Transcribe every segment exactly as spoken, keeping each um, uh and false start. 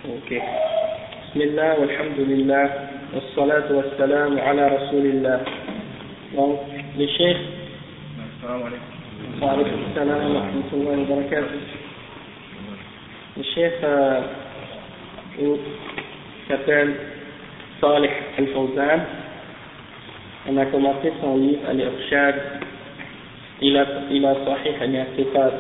Ok. Bismillah, walhamdulillah, wassalatu wassalamu ala rasulillah. Donc, le cheikh. Assalamu alaikum. Wa alaykum assalam wa rahmatullahi wa barakatuh. Le cheikh euh, s'appelle Salih Al-Fawzan. On a commencé son livre Al-Irshad. Il a, il a Sahih Al-I'tiqad.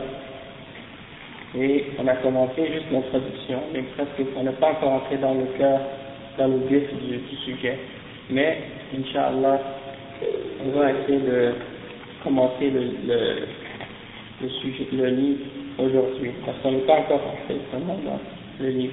Et on a commencé juste l'introduction, mais presque on n'est pas encore entré dans le cœur, dans le vif du, du sujet. Mais, Inch'Allah, on va essayer de commencer le, le, le sujet, le livre aujourd'hui, parce qu'on n'est pas encore entré vraiment dans le livre.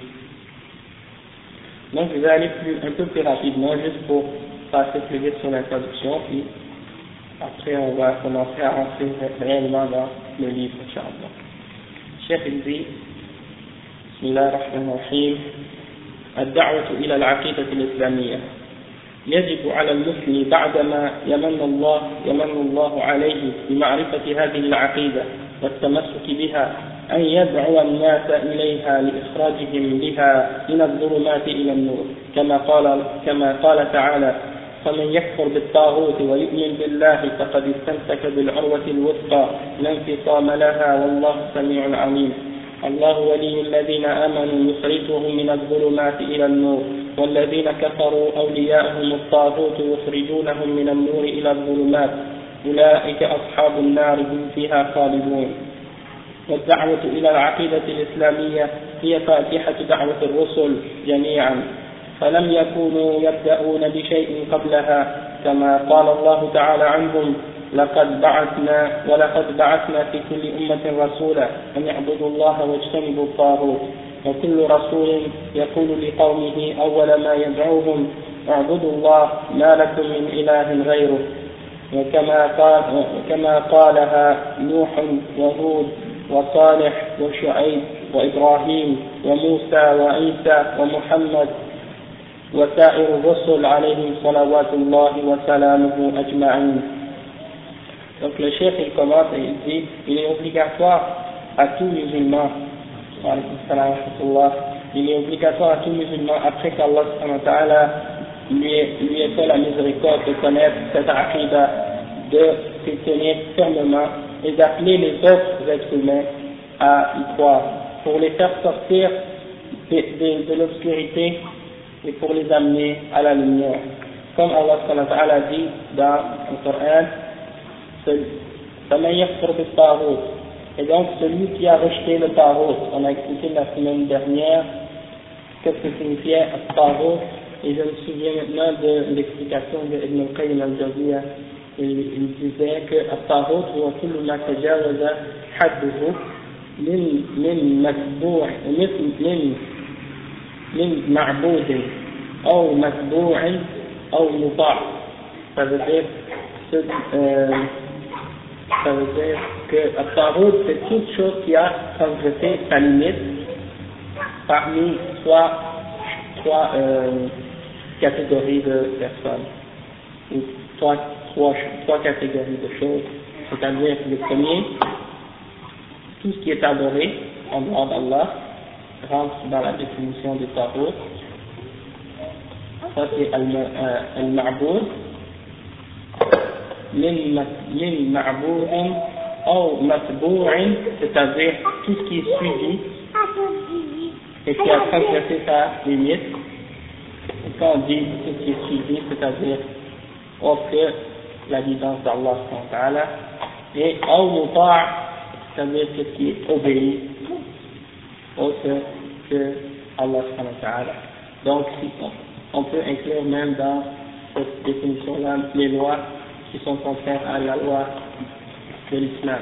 Donc je vais aller plus, un peu plus rapidement, juste pour passer plus vite sur l'introduction, puis après on va commencer à rentrer réellement dans le livre, Inch'Allah. الشيخ الزي بسم الله الرحمن الرحيم الدعوة إلى العقيدة الإسلامية يجب على المسلم بعدما يمن الله يمن الله عليه بمعرفة هذه العقيدة والتمسك بها أن يدعو الناس إليها لإخراجهم بها من الظلمات إلى النور كما قال كما قال تعالى فمن يكفر بالطاغوت ويؤمن بالله فقد استمسك بالعروة الوثقى لا انفصام لها والله سميع عليم الله ولي الذين آمنوا يخرجهم من الظلمات إلى النور والذين كفروا أولياءهم الطاغوت يخرجونهم من النور إلى الظلمات أولئك أصحاب النار هم فيها خالدون والدعوة إلى العقيدة الإسلامية هي فاتحة دعوة الرسل جميعا فلم يكونوا يبدأون بشيء قبلها كما قال الله تعالى عنهم لقد بعثنا ولقد بعثنا في كل أمة رسولا أن يعبدوا الله واجتنبوا الطاغوت وكل رسول يقول لقومه أول ما يدعوهم اعبدوا الله ما لكم من إله غيره وكما قال وكما قالها نوح وهود وصالح وشعيب وإبراهيم وموسى وعيسى ومحمد وسائر الرسل عليهم صلوات الله وسلامه أجمعين. Donc le chef il commence et il dit il est obligatoire à tout musulman, il est obligatoire à tout musulman après qu'Allah subhanahu wa ta'ala lui ait, lui ait fait la miséricorde de connaître cette aqidah, de s'y tenir fermement et d'appeler les autres êtres humains à y croire pour les faire sortir de, de, de l'obscurité et pour les amener à la lumière. Comme Allah subhanahu wa ta'ala dit dans le Coran, et donc celui qui a rejeté le tarot, on a expliqué la semaine dernière qu'est-ce que signifiait le tarot, et je me souviens maintenant de l'explication de Ibn al-Qayyim al-Jawziyya. Il, il disait que le tarot هو كل ما تجاوز حده من من متبوع من من معبود أو متبوع أو مطاع. Ça veut dire ce, euh, ça veut dire que le tarot c'est toute chose qui a transgressé sa limite parmi trois, trois euh, catégories de personnes, ou trois, trois, trois catégories de choses, c'est-à-dire le premier, tout ce qui est adoré en dehors d'Allah rentre dans la définition du tarot. Ça c'est al-ma'boud min ma'boudin ou matbou'in, c'est-à-dire tout ce qui est suivi et qui a transgressé sa limite. Et quand on dit tout ce qui est suivi, c'est-à-dire autre que la guidance d'Allah et ou muta', c'est-à-dire ce qui est obéi autre que Allah subhanahu wa ta'ala. Donc on peut inclure même dans cette définition-là les lois qui sont contraires à la loi de l'islam.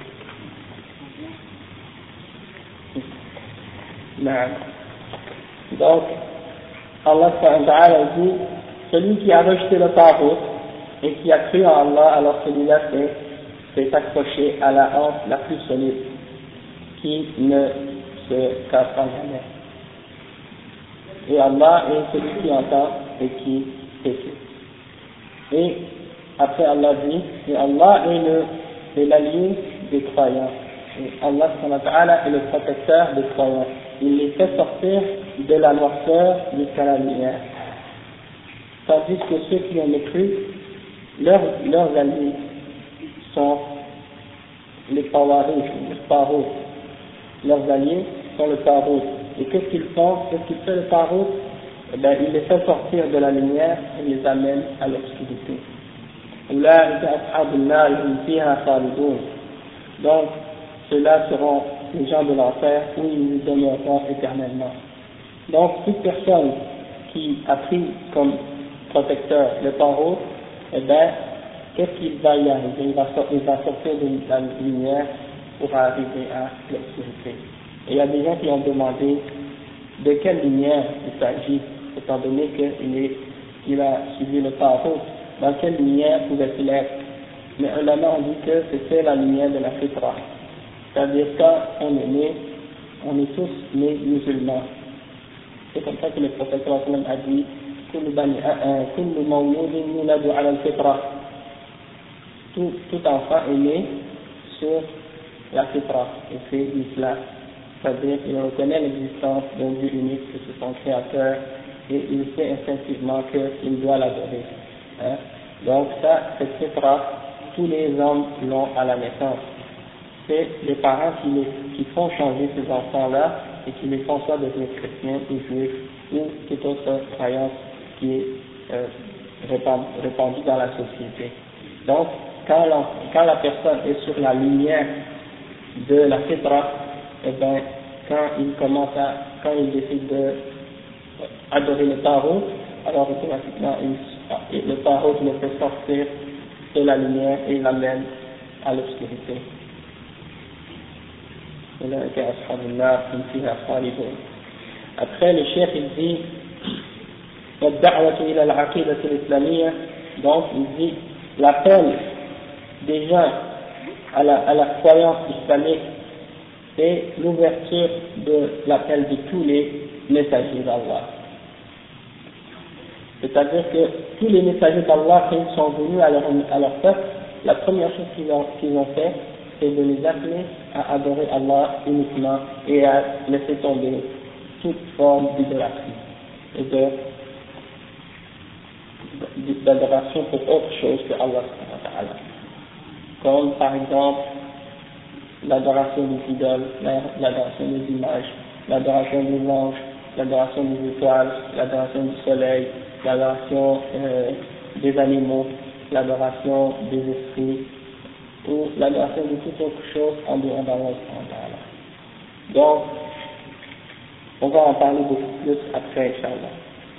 Donc Allah subhanahu wa ta'ala dit celui qui a rejeté le tarot et qui a cru en Allah, alors celui-là s'est accroché à la hanche la plus solide qui ne se casse pas jamais. Et Allah est celui qui entend et qui écoute. Et après Allah dit, et Allah est le est l'allié des croyants. Et Allah subhanahu wa ta'ala est le protecteur des croyants. il les fait sortir de la noirceur jusqu'à la lumière. Tandis que ceux qui ont cru, leurs, leurs alliés sont les pawarouj, les parouj. Leurs alliés sont le parouj. Et qu'est-ce qu'ils font? Qu'est-ce qu'il fait le parouj? Eh bien, il les fait sortir de la lumière et les amène à l'obscurité. Donc, ceux-là seront les gens de l'enfer où ils nous demeureront éternellement. Donc, toute personne qui a pris comme protecteur le parouj, eh bien, qu'est-ce qu'il va y arriver? Il va, il va sortir de la lumière pour arriver à l'obscurité. Et il y a des gens qui ont demandé de quelle lumière il s'agit, étant donné qu'il il a suivi le parouj. Dans quelle lumière pouvait-il être? Mais ulama ont dit que c'était la lumière de la fitra. C'est-à-dire quand on est né, on est tous nés musulmans. C'est comme ça que le prophète a dit كل مولود يولد على الفطرة. Tout, tout enfant est né sur la fitra, et c'est l'islam. C'est-à-dire qu'il reconnaît l'existence d'un Dieu unique, que c'est son créateur, et il sait instinctivement qu'il doit l'adorer. Hein? Donc ça, cette fitra, tous les hommes l'ont à la naissance. C'est les parents qui, les, qui font changer ces enfants-là et qui les font soit devenir chrétiens ou juifs ou toute autre croyance qui est euh, répandue dans la société. Donc, quand la, quand la personne est sur la lumière de la fitra, eh bien, quand il commence à, quand il décide de adorer le tarot, alors automatiquement, il, le tarot le fait sortir de la lumière et il l'amène à l'obscurité. Après, le cheikh il dit والدعوة إلى العقيدة الإسلامية, donc il dit l'appel des gens à la, à la croyance islamique, c'est l'ouverture de l'appel de tous les messagers d'Allah. C'est-à-dire que tous les messagers d'Allah, quand ils sont venus à leur, à leur peuple, la première chose qu'ils ont, qu'ils ont fait, c'est de les appeler à adorer Allah uniquement et à laisser tomber toute forme d'idolâtrie et de d'adoration pour autre chose que Allah, comme par exemple l'adoration des idoles, l'adoration des images, l'adoration des anges, l'adoration des étoiles, l'adoration du soleil, l'adoration euh, des animaux, l'adoration des esprits, ou l'adoration de toute autre chose en dehors d'Allah. Donc, on va en parler beaucoup plus après, Inch'Allah.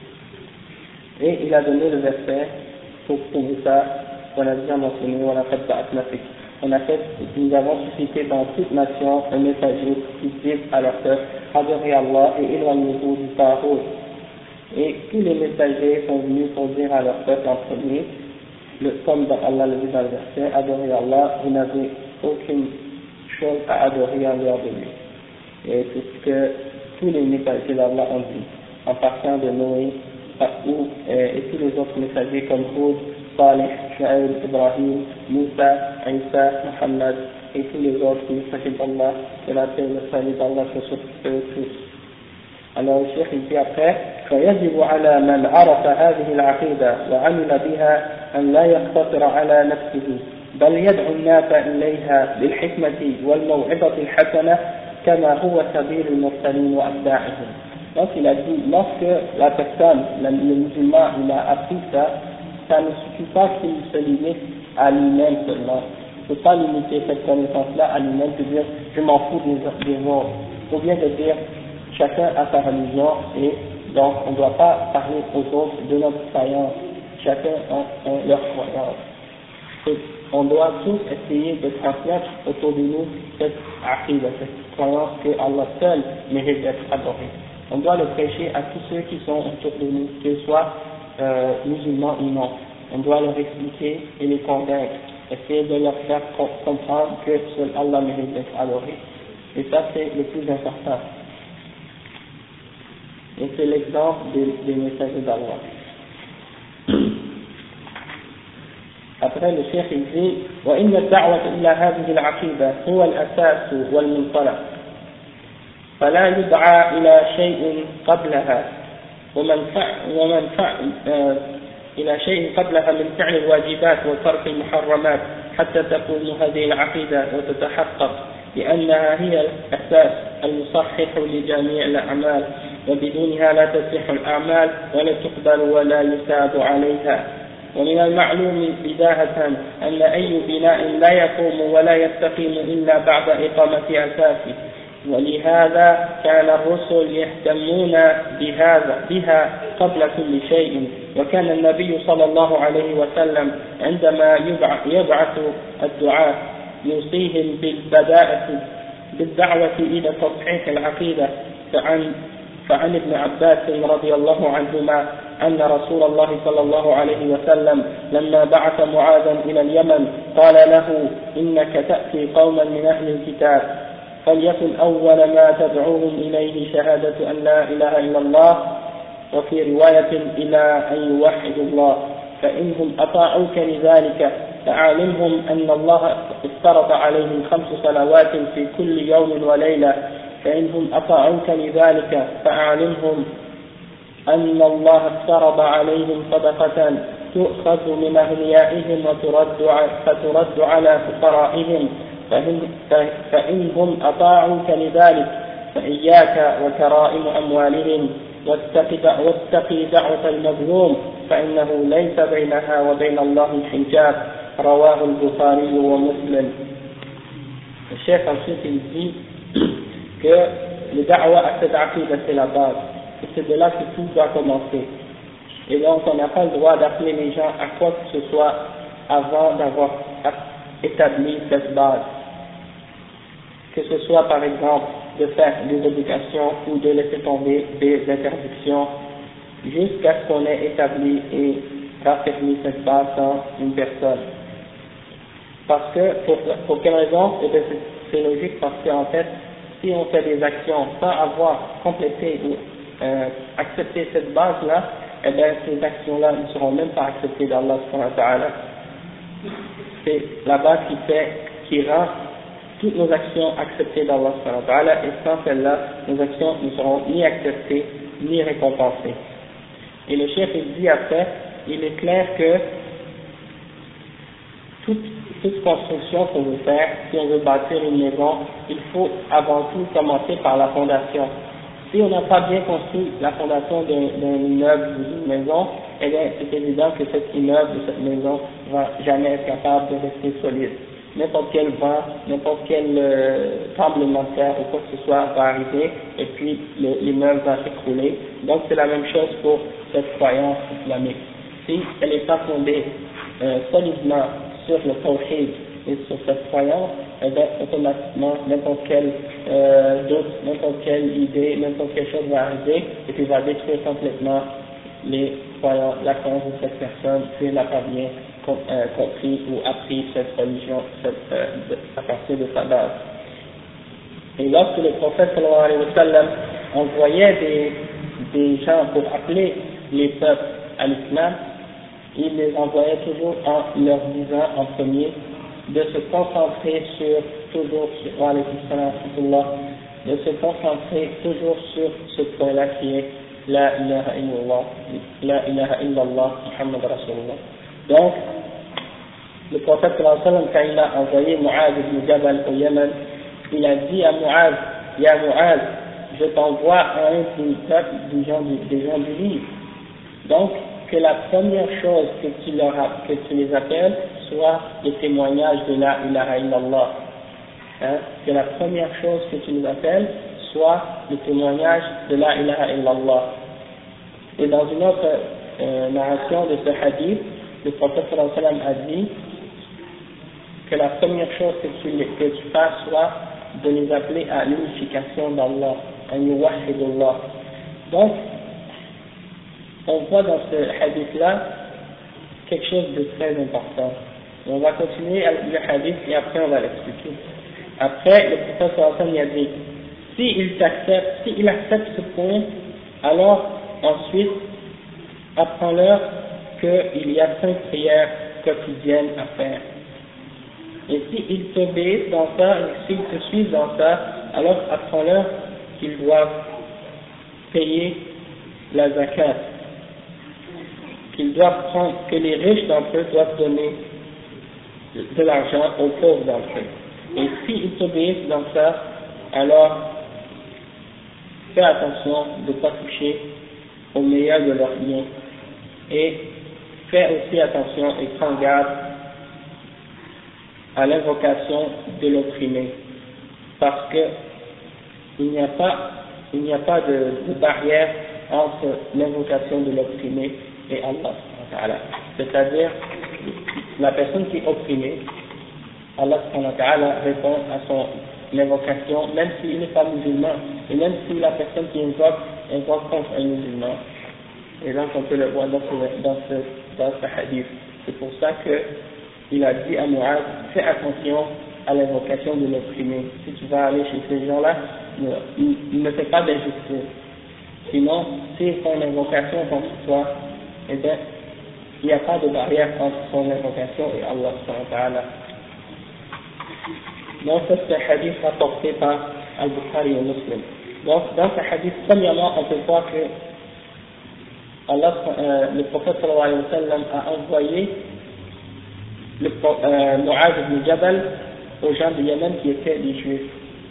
Et il a donné le verset pour prouver ça, on a déjà mentionné, on a fait on a fait, nous avons suscité dans toute nation un messager qui dit à leur peuple, adorez Allah et éloignez-vous du tarot. Et tous les messagers sont venus pour dire à leur peuple en premier, le, comme dans Allah le dit dans le verset, adorez Allah, vous n'avez aucune chose à adorer en dehors de lui. Et c'est ce que tous les messagers d'Allah ont dit, en partant de Noé, ou, et, et tous les autres messagers comme Hud, Salih, Shu'aib, Ibrahim, Moussa, Isa, Muhammad, et tous les autres messagers d'Allah, et la paix et le salut d'Allah se sur eux tous. Alors le cheikh il dit après, فيجب على من عرف هذه العقيدة وعمل بها أن لا يقتصر على نفسه بل يدعو الناس إليها بالحكمة والموعظة الحسنة كما هو سبيل المرسلين وأتباعهم. Donc il a dit, lorsque la personne, le musulman, il a appris ça, ça ne suffit pas qu'il se limite à lui-même seulement. Il ne faut pas limiter cette connaissance-là à lui-même, de dire je m'en fous des, des autres. Il faut bien de dire chacun a sa religion et donc on ne doit pas parler aux autres de notre croyance. Chacun a, a leur croyance. Et on doit tous essayer de transmettre autour de nous cette aqidah, cette croyance que Allah seul mérite d'être adoré. On doit le prêcher à tous ceux qui sont autour de nous, qu'ils soient euh, musulmans ou non. On doit leur expliquer et les convaincre, essayer de leur faire comprendre que seul Allah mérite d'être adoré. Et ça c'est le plus important. Et c'est l'exemple des, des messagers d'Allah. Après le cheikh il dit وإن الدعوة إلى هذه العقيدة هو الأساس والمنطلق فلا يدعى إلى شيء قبلها ومن فعل, ومن فعل آه إلى شيء قبلها من فعل الواجبات وترك المحرمات حتى تكون هذه العقيدة وتتحقق لأنها هي الأساس المصحح لجميع الأعمال وبدونها لا تصح الأعمال ولا تقبل ولا يثاب عليها. ومن المعلوم بداهة أن أي بناء لا يقوم ولا يستقيم إلا بعد إقامة أساسه، ولهذا كان الرسل يهتمون بهذا بها قبل كل شيء. وكان النبي صلى الله عليه وسلم عندما يبعث الدعاة يوصيهم بالبداءة بالدعوة إلى تصحيح العقيدة. فعن فعن ابن عباس رضي الله عنهما أن رسول الله صلى الله عليه وسلم لما بعث معاذا إلى اليمن قال له: إنك تأتي قوما من أهل الكتاب فليكن أول ما تدعوهم إليه شهادة أن لا إله إلا الله، وفي رواية إلى أن يوحدوا الله، فإنهم أطاعوك لذلك فأعلمهم أن الله افترض عليهم خمس صلوات في كل يوم وليلة، فإنهم أطاعوك لذلك فأعلمهم أن الله افترض عليهم صدقة تؤخذ من أغنيائهم وترد فترد على فقرائهم، فإنهم أطاعوك لذلك فإياك وكرائم أموالهم واتقي دعوة المظلوم فإنه ليس بينها وبين الله حجاب. رواه البخاري ومسلم. Le chef ensuite il dit que le da'wa à cette aqidah c'est la base, et c'est de là que tout doit commencer. Et donc on n'a pas le droit d'appeler les gens à quoi que ce soit avant d'avoir établi cette base. Que ce soit par exemple de faire des obligations ou de laisser tomber des interdictions jusqu'à ce qu'on ait établi et raffermi cette base dans une personne. Parce que, pour, pour quelle raison? Eh bien, c'est logique parce qu'en fait, si on fait des actions sans avoir complété ou euh, accepté cette base-là, eh bien, ces actions-là ne seront même pas acceptées d'Allah subhanahu wa ta'ala. C'est la base qui fait, qui rend toutes nos actions acceptées d'Allah subhanahu wa ta'ala, et sans celle-là, nos actions ne seront ni acceptées, ni récompensées. Et le chef il dit après, il est clair que toute, toute construction qu'on veut faire, si on veut bâtir une maison, il faut avant tout commencer par la fondation. Si on n'a pas bien construit la fondation d'un immeuble ou d'une maison, eh bien c'est évident que cet immeuble ou cette maison va jamais être capable de rester solide. N'importe quel vent, n'importe quel euh, tremblement de terre ou quoi que ce soit va arriver et puis l'immeuble va s'écrouler. Donc c'est la même chose pour cette croyance islamique. Si elle n'est pas fondée euh, solidement sur le tawhid et sur cette croyance, eh bien automatiquement n'importe quel euh, doute, n'importe quelle idée, n'importe quelle chose va arriver et puis va détruire complètement les croyances, la croyance de cette personne si elle n'a pas bien compris ou appris cette religion cette, euh, de, à partir de sa base. Et lorsque le prophète sallallahu alayhi wa sallam envoyait des, des gens pour appeler les peuples à l'islam, il les envoyait toujours en leur disant en premier de se concentrer sur toujours sur de se concentrer toujours sur ce point-là qui est la ilaha illallah, la ilaha illallah, Muhammad Rasulullah. Donc, le prophète sallallahu alayhi wa sallam, quand il a envoyé Mu'adh ibn Jabal au Yémen, il a dit à Mu'adh: Ya Mu'adh, je t'envoie à un du peuple des gens du, des gens du livre. Donc, que la première chose que tu, leur a, que tu les appelles soit le témoignage de la ilaha illallah. Hein? Que la première chose que tu les appelles soit le témoignage de la ilaha illallah. Et dans une autre euh, narration de ce hadith, le prophète sallallahu alayhi wa sallam a dit que la première chose que tu, que tu fasses soit de les appeler à l'unification d'Allah, à yuwahidullah. Donc, on voit dans ce hadith-là quelque chose de très important. On va continuer avec le hadith et après on va l'expliquer. Après, le prophète sallallahu alayhi wa sallam a dit, s'il accepte, s'il accepte ce point, alors ensuite, apprends-leur qu'il y a cinq prières quotidiennes à faire. Et s'ils t'obéissent dans ça, et s'ils te suivent dans ça, alors apprends-leur qu'ils doivent payer la zakat, qu'ils doivent prendre, que les riches d'entre eux doivent donner de l'argent aux pauvres d'entre eux. Et s'ils t'obéissent dans ça, alors fais attention de ne pas toucher au meilleur de leurs biens. Et fais aussi attention et prends garde à l'invocation de l'opprimé. Parce que il n'y a pas, il n'y a pas de, de barrière entre l'invocation de l'opprimé et Allah. C'est-à-dire, la personne qui est opprimée, Allah répond à son invocation, même s'il n'est pas musulman, et même si la personne qui invoque, invoque contre un musulman. Et donc on peut le voir dans ce, dans ce, dans ce hadith. C'est pour ça qu'il a dit à Mu'adh, fais attention à l'invocation de l'opprimé. Si tu vas aller chez ces gens-là, ne, ne fais pas d'injustice. Sinon, s'ils font une invocation contre toi, eh bien, il n'y a pas de barrière entre son invocation et Allah subhanahu wa ta'ala. Donc, ça c'est un hadith rapporté par Al-Bukhari et Muslim. Donc, dans ce hadith, premièrement, on peut voir que Allah, euh, le prophète sallallahu alayhi wa sallam a envoyé le euh, Mu'adh ibn Jabal aux gens du Yémen qui étaient des juifs.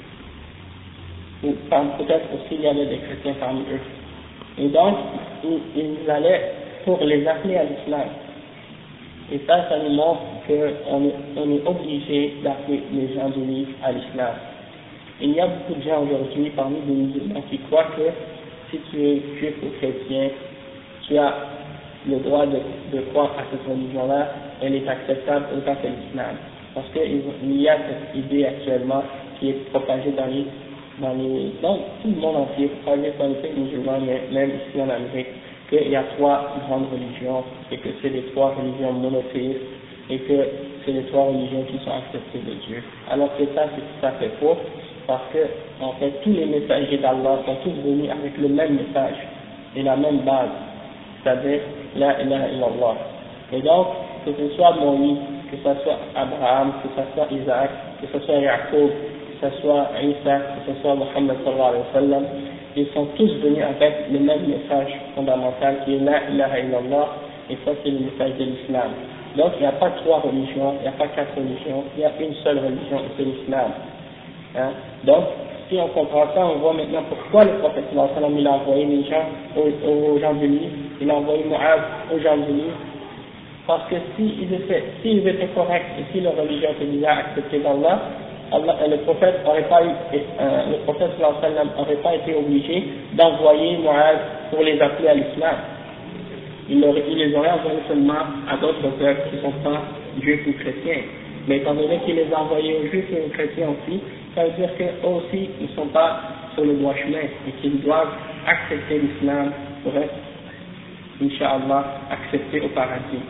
Ou peut-être aussi il y avait des chrétiens parmi eux. Et donc, ils, ils allaient pour les appeler à l'islam. Et ça, ça nous montre qu'on est, on est obligé d'appeler les gens du livre à l'islam. Il y a beaucoup de gens aujourd'hui parmi les musulmans qui croient que si tu es juif ou chrétien, tu as le droit de, de croire à cette religion-là, elle est acceptable autant que l'islam. Parce qu'il y a cette idée actuellement qui est propagée dans les, dans les, dans tout le monde entier, propagée dans les pays musulmans, mais même ici en Amérique, qu'il y a trois grandes religions, et que c'est les trois religions monothéistes, et que c'est les trois religions qui sont acceptées de Dieu. Alors que ça, c'est tout à fait faux, parce que, en fait, tous les messagers d'Allah sont tous venus avec le même message, et la même base, c'est-à-dire, la ilaha illallah. Et donc, que ce soit Moïse, que ce soit Abraham, que ce soit Isaac, que ce soit Jacob, que ce soit Isa, que ce soit Muhammad sallallahu alayhi wa sallam, ils sont tous venus avec le même message fondamental qui est la ilaha illallah, et ça c'est le message de l'islam. Donc il n'y a pas trois religions, il n'y a pas quatre religions, il y a une seule religion et c'est l'islam. Hein? Donc si on comprend ça, on voit maintenant pourquoi le prophète sallallahu alayhi wa sallam il a envoyé les gens aux, aux gens du livre, il a envoyé Mu'adh aux gens du livre, parce que s'ils étaient, s'ils étaient corrects et si leur religion était déjà acceptée d'Allah, Allah, le prophète n'aurait pas eu, euh, le prophète sallallahu alayhi wa sallam n'aurait pas été obligé d'envoyer Mu'adh pour les appeler à l'islam. Il, il les aurait envoyés seulement à d'autres peuples qui ne sont pas juifs ou chrétiens. Mais étant donné qu'il les a envoyés aux juifs et aux chrétiens aussi, ça veut dire qu'eux aussi ils ne sont pas sur le droit chemin et qu'ils doivent accepter l'islam pour être, Inch'Allah, acceptés au paradis.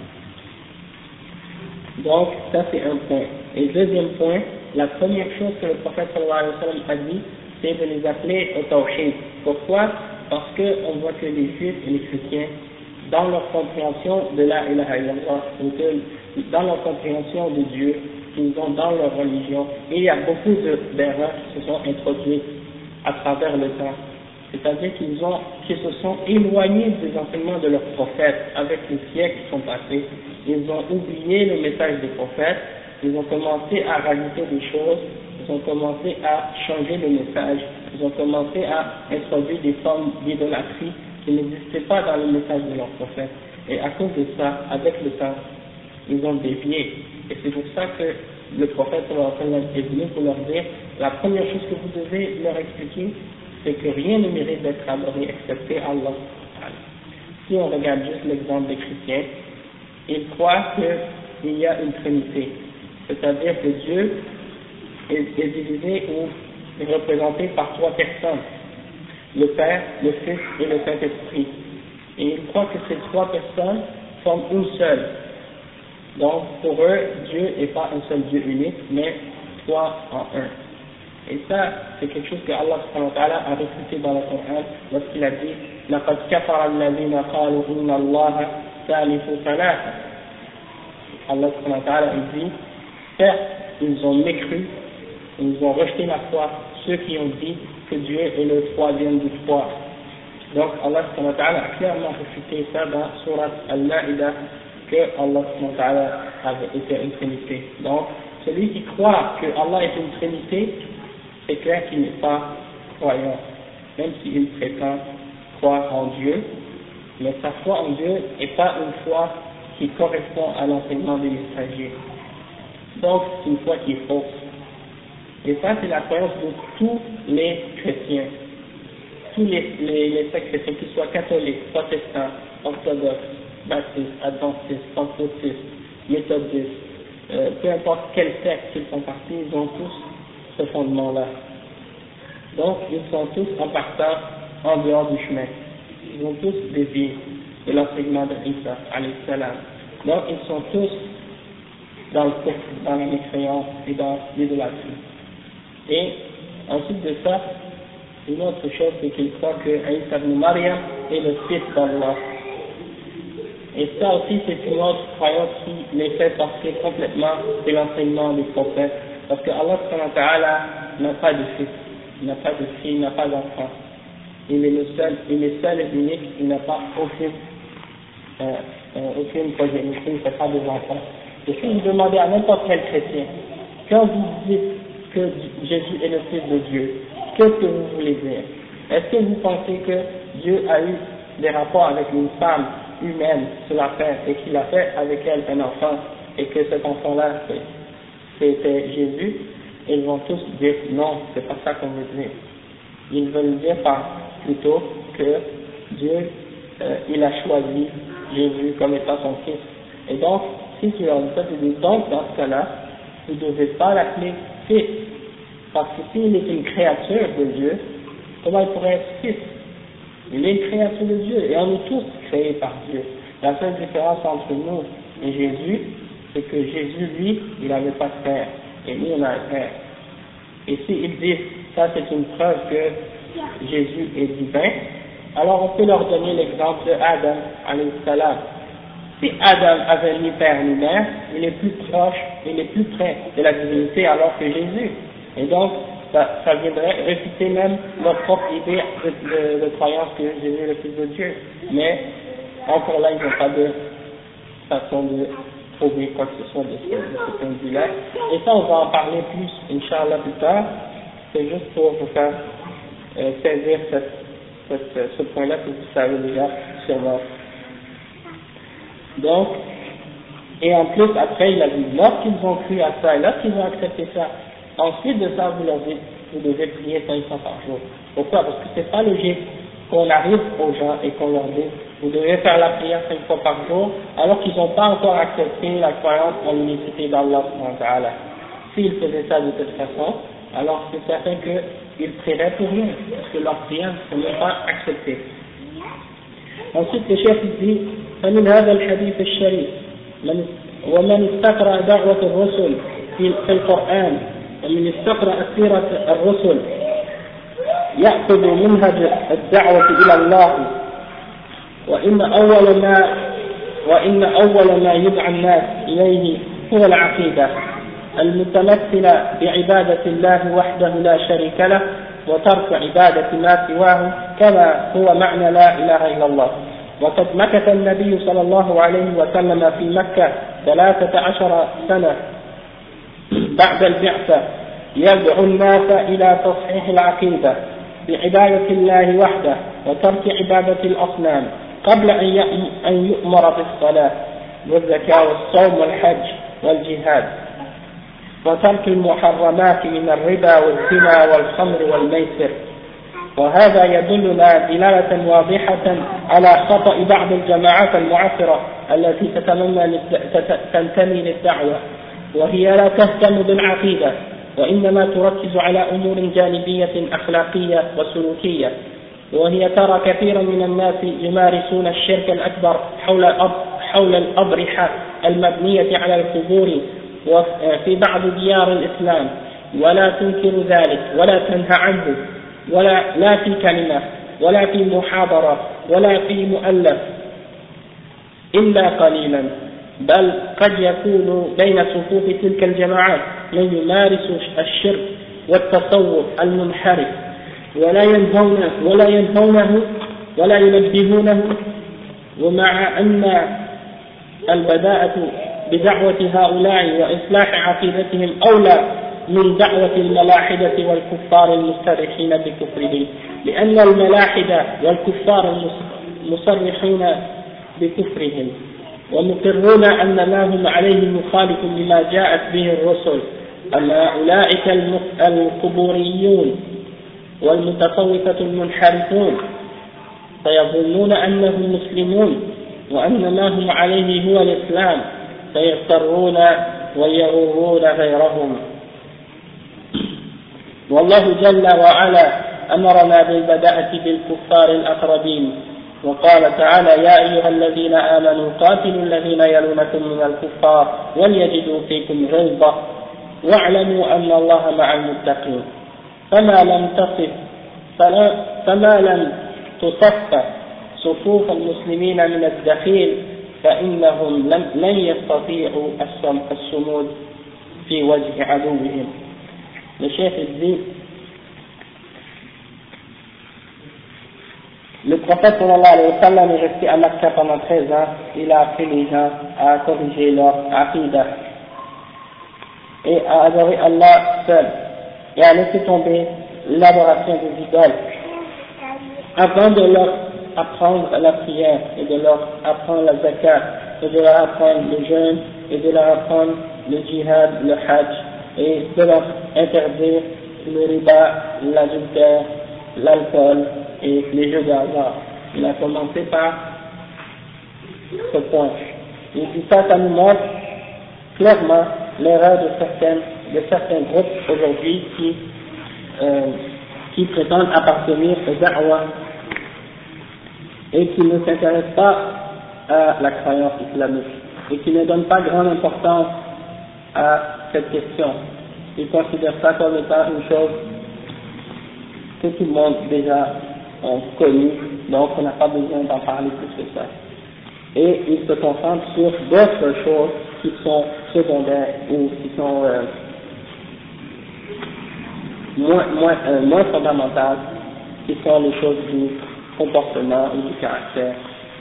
Donc, ça c'est un point. Et deuxième point, la première chose que le prophète sallallahu alayhi wa sallam a dit, c'est de les appeler au tawhid. Pourquoi? Parce qu'on voit que les juifs et les chrétiens, dans leur compréhension de la ilaha illallah, ou que dans leur compréhension de Dieu, qu'ils ont dans leur religion, et il y a beaucoup d'erreurs qui se sont introduites à travers le temps. C'est-à-dire qu'ils ont, qu'ils se sont éloignés des enseignements de leurs prophètes avec les siècles qui sont passés. Ils ont oublié le message des prophètes, ils ont commencé à rajouter des choses, ils ont commencé à changer le message, ils ont commencé à introduire des formes d'idolâtrie qui n'existaient pas dans le message de leurs prophètes. Et à cause de ça, avec le temps, ils ont dévié. Et c'est pour ça que le prophète sallallahu alayhi wa sallam est venu pour leur dire, la première chose que vous devez leur expliquer, c'est que rien ne mérite d'être adoré excepté Allah. Si on regarde juste l'exemple des chrétiens, ils croient qu'il y a une trinité, c'est-à-dire que Dieu est, est divisé ou est représenté par trois personnes, le Père, le Fils et le Saint-Esprit. Et ils croient que ces trois personnes forment une seule. Donc pour eux, Dieu n'est pas un seul Dieu unique, mais trois en un. Et ça, c'est quelque chose que Allah subhanahu wa ta'ala a réfuté dans le Coran lorsqu'il a dit لَقَدْ كَفَرَ الَّذِينَ قَالُوا إِنَّ اللَّهَ ثَالِثُ ثَلَاثَةٍ. Allah subhanahu wa ta'ala dit, certes, ils ont mécru, ils ont rejeté la foi ceux qui ont dit que Dieu est le troisième du trois. Donc Allah subhanahu wa ta'ala a clairement réfuté ça dans Surat Al-Ma'idah, que Allah subhanahu wa ta'ala avait été une trinité. Donc celui qui croit que Allah est une trinité, c'est clair qu'il n'est pas croyant, même s'il prétend croire en Dieu, mais sa foi en Dieu n'est pas une foi qui correspond à l'enseignement des messagers. Donc c'est une foi qui est fausse. Et ça c'est la croyance de tous les chrétiens, tous les, les, les sectes chrétiens, qu'ils soient catholiques, protestants, orthodoxes, baptistes, adventistes, pentecôtistes, méthodistes, euh, peu importe quel secte ils font partie, ils ont tous ce fondement-là. Donc ils sont tous en partant en dehors du chemin. Ils ont tous dévié de l'enseignement de Isa, alayhi salam. Donc ils sont tous dans le kufr, dans la mécréance et dans l'idolâtrie. Et ensuite de ça, une autre chose, c'est qu'ils croient que Isa ibn Maryam est le fils d'Allah. Et ça aussi, c'est une autre croyance qui les fait sortir complètement de l'enseignement des prophètes. Parce que Allah subhanahu wa ta'ala n'a pas de fils, il n'a pas de fille, il n'a pas d'enfant. Il est le seul, il est seul et unique, il n'a pas aucune, euh, euh, aucune progéniture, il ne fait pas des enfants. Et si vous demandez à n'importe quel chrétien, quand vous dites que Jésus est le Fils de Dieu, qu'est-ce que vous voulez dire? Est-ce que vous pensez que Dieu a eu des rapports avec une femme humaine sur la terre et qu'il a fait avec elle un enfant et que cet enfant-là c'était Jésus? Ils vont tous dire non, c'est pas ça qu'on veut dire. Ils veulent dire par plutôt que Dieu euh, il a choisi Jésus comme étant son fils. Et donc, si tu leur dis ça, tu dis donc dans ce cas-là, vous ne devez pas l'appeler fils. Parce que s'il est une créature de Dieu, comment il pourrait être fils? Il est une créature de Dieu et on est tous créés par Dieu. La seule différence entre nous et Jésus, c'est que Jésus, lui, il n'avait pas de père. Et nous, on a un père. Et s'ils disent ça, c'est une preuve que Jésus est divin, alors on peut leur donner l'exemple de Adam, alayhi salam. Si Adam avait ni père ni mère, il est plus proche, il est plus près de la divinité alors que Jésus. Et donc, ça, ça viendrait réfuter même notre propre idée de, de, de croyance que Jésus est le Fils de Dieu. Mais, encore là, ils n'ont pas de façon de trouver quoi que ce soit de ce, de ce point de vue-là. Et ça, on va en parler plus, Inch'Allah, plus tard. C'est juste pour vous faire euh, saisir cette, cette, ce point-là que vous savez déjà sûrement. Donc, et en plus, après, il a dit, lorsqu'ils ont cru à ça, et lorsqu'ils ont accepté ça, ensuite de ça, vous leur dites, vous devez prier cinq fois par jour. Pourquoi? Parce que c'est pas logique qu'on arrive aux gens et qu'on leur dise, vous devez faire la prière cinq fois par jour, alors qu'ils n'ont pas encore accepté la croyance en l'unicité d'Allah. S'ils faisaient ça de cette façon, alors c'est certain qu'ils prieraient pour rien, parce que leur prière ne sont même pas acceptée. Ensuite, le chef dit, فمن هذا الحديث الشريف من ومن استقرأ دعوة الرسل في القرآن ومن استقرأ سيرة الرسل يأخذ منهج الدعوة إلى الله وإن أول ما وإن أول ما يدعى الناس إليه هو العقيدة المتمثلة بعبادة الله وحده لا شريك له وترك عبادة ما سواه كما هو معنى لا إله إلا الله. وقد مكث النبي صلى الله عليه وسلم في مكة ثلاثة عشر سنة بعد البعثة يدعو الناس إلى تصحيح العقيدة بعبادة الله وحده وترك عبادة الأصنام قبل أن يؤمر بالصلاة والزكاة والصوم والحج والجهاد وترك المحرمات من الربا والزنا والخمر والميسر. وهذا يدلنا دلالة واضحة على خطأ بعض الجماعات المعاصرة التي تتمنى تنتمي للدعوة وهي لا تهتم بالعقيدة وإنما تركز على أمور جانبية أخلاقية وسلوكية، وهي ترى كثيرا من الناس يمارسون الشرك الأكبر حول الأب حول الأضرحة المبنية على القبور وفي بعض ديار الإسلام ولا تنكر ذلك ولا تنهى عنه ولا لا في كلمة ولا في محاضرة ولا في مؤلف إلا قليلا، بل قد يكون بين صفوف تلك الجماعات من يمارس الشرك والتصوف المنحرف ولا ينهونه ولا ينهونه ولا ينبهونه، ومع أن البداءة بدعوة هؤلاء وإصلاح عقيدتهم أولى من دعوة الملاحدة والكفار المصرحين بكفرهم، لأن الملاحدة والكفار مصرحون بكفرهم ومقرون أن ما هم عليه مخالف لما جاءت به الرسل. أما أولئك القبوريون والمتصوفة المنحرفون فيظنون أنهم مسلمون وأن ما هم عليه هو الإسلام، فيضطرون ويغرون غيرهم. والله جل وعلا أمرنا بالبداءة بالكفار الأقربين، وقال تعالى: يا أيها الذين آمنوا قاتلوا الذين يلونكم من الكفار وليجدوا فيكم غلظة واعلموا أن الله مع المتقين. فما لم تصف فما لم تصف صفوف المسلمين من الدخيل فإنهم لن يستطيعوا الصمود في وجه عدوهم. Le chef dit: le prophète sallallahu alayhi wa sallam est resté à Makkah pendant treize ans. Il a appris les gens à corriger leur aqidah et à adorer Allah seul et à laisser tomber l'adoration des idoles, avant de leur apprendre la prière et de leur apprendre la zakat et de leur apprendre le jeûne et de leur apprendre le djihad, le hajj, et de leur interdire le riba, l'adultère, l'alcool et les jeux de hasard. Il a commencé par ce point. Et puis ça, ça nous montre clairement l'erreur de certaines, de certains groupes aujourd'hui qui, euh, qui prétendent appartenir au da'wah et qui ne s'intéressent pas à la croyance islamique et qui ne donnent pas grande importance à cette question. Ils considèrent ça comme étant une chose que tout le monde déjà a connue, donc on n'a pas besoin d'en parler plus que ça. Et ils se concentrent sur d'autres choses qui sont secondaires ou qui sont euh, moins, moins, euh, moins fondamentales, qui sont les choses du comportement ou du caractère.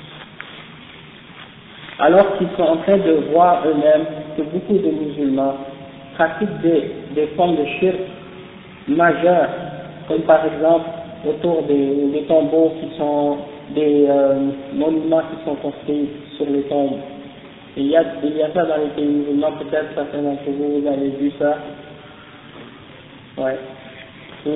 Alors qu'ils sont en train de voir eux-mêmes que beaucoup de musulmans pratiquent des, des formes de shirk majeures, comme par exemple autour des, des tombeaux qui sont des euh, monuments qui sont construits sur les tombes. Et il y a, il y a ça dans les pays musulmans, peut-être certains d'entre vous, vous avez vu ça. Ouais. C'est,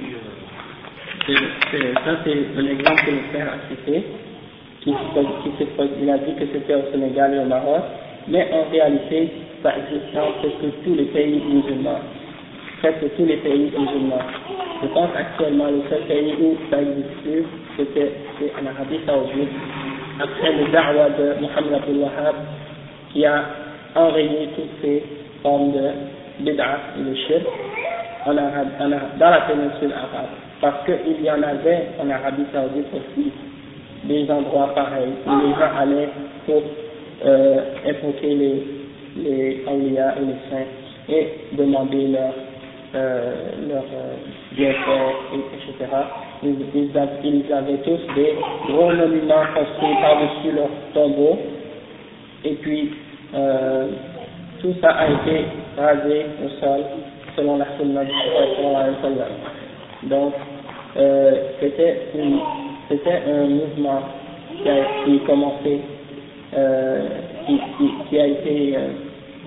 c'est, ça c'est un exemple que le frère a cité. Qui, qui, il a dit que c'était au Sénégal et au Maroc, mais en réalité, ça existe dans presque tous les pays musulmans. Presque tous les pays musulmans. Je pense actuellement le seul pays où ça existe plus, c'était c'est en Arabie Saoudite, après le da'wah de Mohammed Abdul Wahhab, qui a enrayé toutes ces formes de bid'ah et de shirk en Arabe, en Arabe, dans la péninsule arabe. Parce qu'il y en avait en Arabie Saoudite aussi des endroits pareils où les gens allaient pour euh, invoquer les, les awliya et les saints et demander leur, euh, leur euh, bienfait, et cetera. Ils, ils, ils avaient tous des gros monuments construits par-dessus leur tombeau et puis euh, tout ça a été rasé au sol selon la sunna du prophète. Donc euh, c'était une C'était un mouvement qui a, qui a commencé, euh, qui, qui, qui a été euh,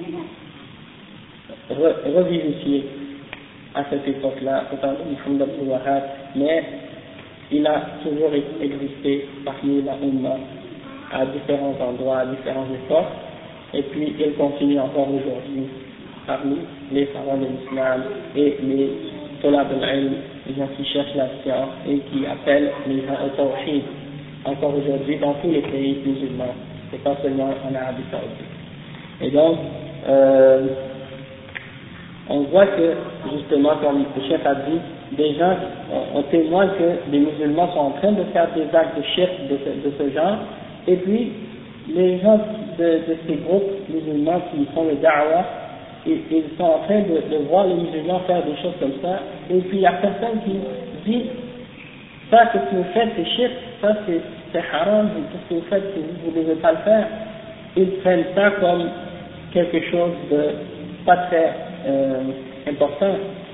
re, revivifié à cette époque-là, au temps de Mohammed Abdul Wahhab, mais il a toujours existé parmi la Ummah à différents endroits, à différentes époques, et puis il continue encore aujourd'hui parmi les savants de l'islam et les Tolab al-Ilm, les gens qui cherchent la science et qui appellent les gens au tawhid, encore aujourd'hui dans tous les pays musulmans, et pas seulement en Arabie Saoudite. Et donc, euh, on voit que, justement, comme le chef a dit, des gens, on, on témoigne que des musulmans sont en train de faire des actes de shirk de ce, de ce genre, et puis les gens de, de ces groupes musulmans qui font le da'wah ils, ils sont en train de, de voir les musulmans faire des choses comme ça, et puis il y a personne qui dit ça que vous faites c'est shirk, ça c'est, c'est haram, ce que vous faites vous ne devez pas le faire. Ils prennent ça comme quelque chose de pas très euh, important.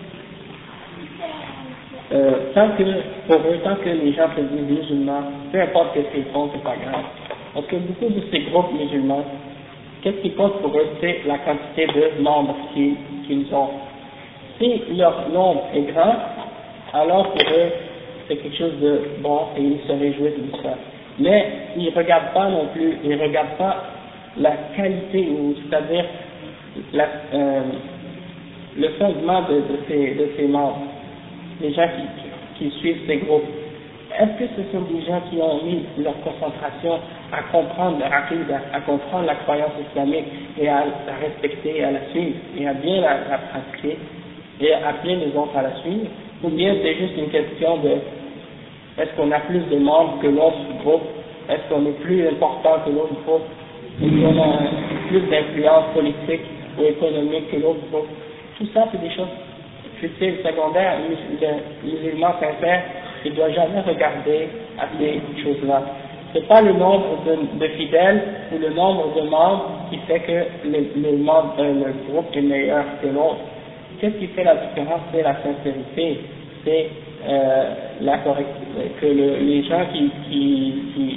Euh, tant que, pour eux, tant que les gens se disent musulmans, peu importe ce qu'ils font, c'est pas grave. Parce que beaucoup de ces groupes musulmans, qu'est-ce qui compte pour eux, c'est la quantité de membres qu'ils, qu'ils ont. Si leur nombre est grand, alors pour eux, c'est quelque chose de bon et ils se réjouissent de ça. Mais ils ne regardent pas non plus, ils ne regardent pas la qualité, ou c'est-à-dire la, euh, le fondement de, de, ces, de ces membres, les gens qui, qui suivent ces groupes. Est-ce que ce sont des gens qui ont mis leur concentration à comprendre leur aqidah, à comprendre la croyance islamique et à la respecter, et à la suivre, et à bien la, la pratiquer, et à appeler les autres à la suivre, ou bien c'est juste une question de est-ce qu'on a plus de membres que l'autre groupe, est-ce qu'on est plus important que l'autre groupe, est-ce qu'on a plus d'influence politique ou économique que l'autre groupe. Tout ça, c'est des choses futiles, secondaires. Le musulman sincère, il ne doit jamais regarder à ces choses-là. Ce n'est pas le nombre de, de fidèles ou le nombre de membres qui fait que le, le, membre, euh, le groupe est meilleur que l'autre. Qu'est-ce qui fait la différence? C'est la sincérité, c'est euh, la correctitude, que le, les gens qui, qui, qui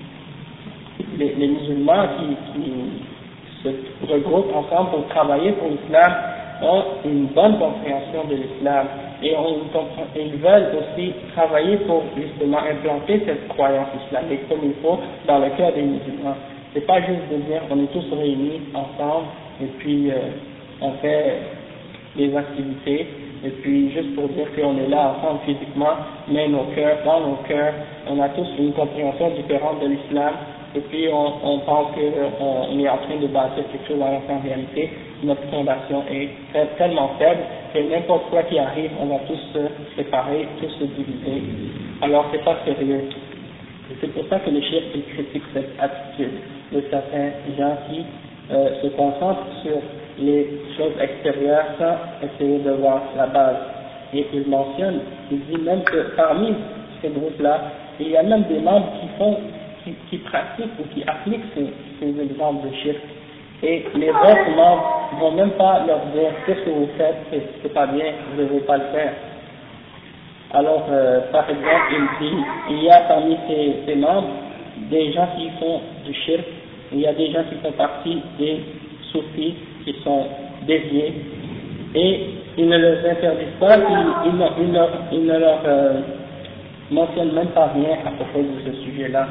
les, les musulmans qui, qui se regroupent ensemble pour travailler pour l'islam ont une bonne compréhension de l'islam et on comprend, ils veulent aussi travailler pour justement implanter cette croyance islamique comme il faut dans le cœur des musulmans. C'est pas juste de dire on est tous réunis ensemble et puis euh, on fait des activités et puis juste pour dire qu'on est là ensemble physiquement, mais nos cœurs, dans nos cœurs, on a tous une compréhension différente de l'islam et puis on, on pense qu'on est en train de bâtir quelque chose alors qu'en réalité notre fondation est très, tellement faible que n'importe quoi qui arrive, on va tous se séparer, tous se diviser. Alors c'est pas sérieux. Et c'est pour ça que les chiites critiquent cette attitude de certains gens qui euh, se concentrent sur les choses extérieures sans essayer de voir la base. Et il mentionne, il dit même que parmi ces groupes-là, il y a même des membres qui font, qui, qui pratiquent ou qui appliquent ces, ces exemples de shirk. Et les autres membres ne vont même pas leur dire qu'est-ce que vous faites, c'est, c'est pas bien, vous ne devez pas le faire. Alors, euh, par exemple, il dit, il y a parmi ces, ces membres des gens qui font du shirk, il y a des gens qui font partie des soufis qui sont déviés, et ils ne leur interdisent pas, ils, ils, ils, leur, ils ne leur euh, mentionnent même pas rien à propos de ce sujet-là.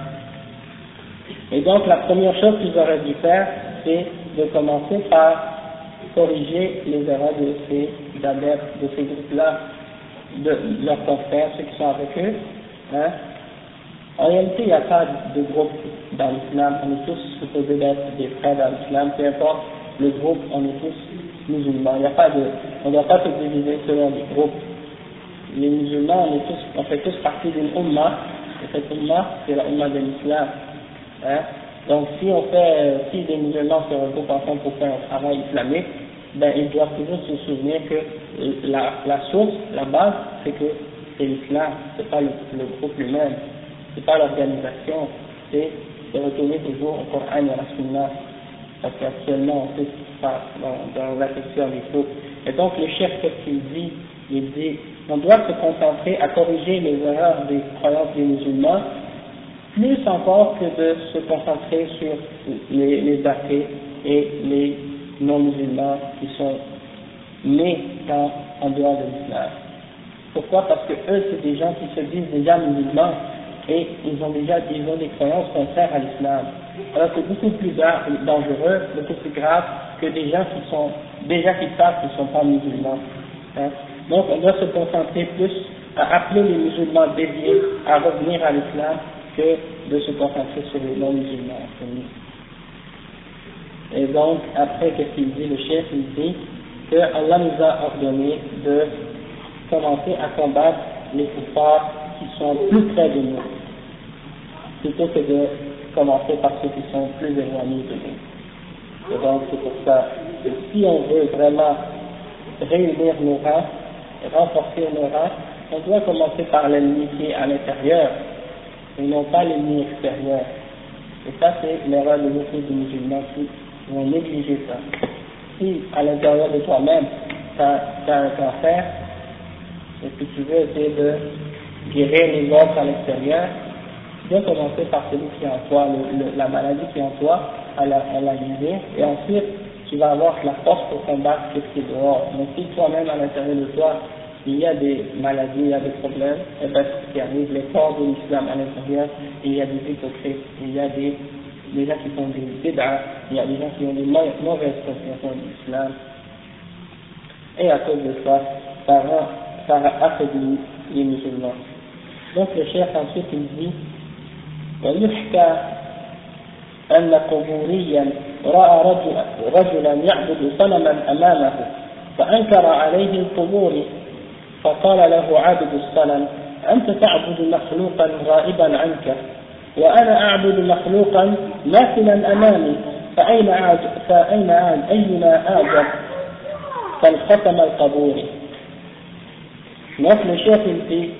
Et donc la première chose qu'ils auraient dû faire, c'est de commencer par corriger les erreurs de ces adeptes, de ces groupes-là, de leurs confrères, ceux qui sont avec eux. Hein. En réalité, il n'y a pas de groupe dans l'islam, on est tous supposés d'être des frères dans l'islam, peu importe le groupe, on est tous musulmans. Il n'y a pas de, on ne doit pas se diviser selon les groupes. Les musulmans, on, est tous, on fait tous partie d'une umma, et cette umma, c'est la umma de l'islam. Hein? Donc si on fait, si des musulmans se regroupent ensemble pour faire un travail islamique, ben ils doivent toujours se souvenir que la, la source, la base, c'est que c'est l'islam, c'est pas le, le groupe lui-même, c'est pas l'organisation, c'est de retourner toujours au Coran et à la Sunna, parce qu'actuellement on sait ce qui se passe dans, dans l'affection des groupes. Et donc le chef, qu'est-ce qu'il dit? Il dit, on doit se concentrer à corriger les erreurs des croyances des musulmans, plus encore que de se concentrer sur les, les athées et les non-musulmans qui sont nés dans, en dehors de l'islam. Pourquoi? Parce que eux, c'est des gens qui se disent déjà musulmans et ils ont déjà ils ont des croyances contraires à l'islam. Alors c'est beaucoup plus dangereux, beaucoup plus grave que des gens qui sont déjà qui savent qu'ils ne sont pas musulmans. Hein? Donc on doit se concentrer plus à appeler les musulmans déviés à revenir à l'islam que de se concentrer sur les non-musulmans. Et donc, après, qu'est-ce qu'il dit? Le chef, il dit que Allah nous a ordonné de commencer à combattre les kuffars qui sont plus près de nous, plutôt que de commencer par ceux qui sont plus éloignés de nous. Et donc, c'est pour ça si on veut vraiment réunir nos rangs, renforcer nos rangs, on doit commencer par l'ennemi qui est à l'intérieur, et non pas l'ennemi extérieur. Et ça, c'est l'erreur de beaucoup de musulmans qui vont négliger ça. Si à l'intérieur de toi-même, tu as un cancer, et que tu veux essayer de guérir les autres à l'extérieur, tu dois commencer par celui qui est en toi, le, le, la maladie qui est en toi, à la, à la guérir, et ensuite tu vas avoir la force pour combattre ce qui est dehors. Mais si toi-même à l'intérieur de toi, il y a des maladies, il y a des problèmes, et bien ce qui arrive, les forces de l'islam à l'intérieur, il y a des hypocrites, il y a des, des gens qui font des bid'ah, il y a des gens qui ont des mauvaises compréhensions de l'islam, et à cause de ça, ça, rend, ça affaiblit les musulmans. Donc le chef ensuite il dit ويحكى أن قبوريا رأى رجل رجلا يعبد صنما أمامه فأنكر عليه القبور فقال له عابد الصنم أنت تعبد مخلوقا غائبا عنك وأنا أعبد مخلوقا ماثلا أمامي فأين أعجب فأين أعجب أينا أعجب فانختم القبور. Donc le chef il dit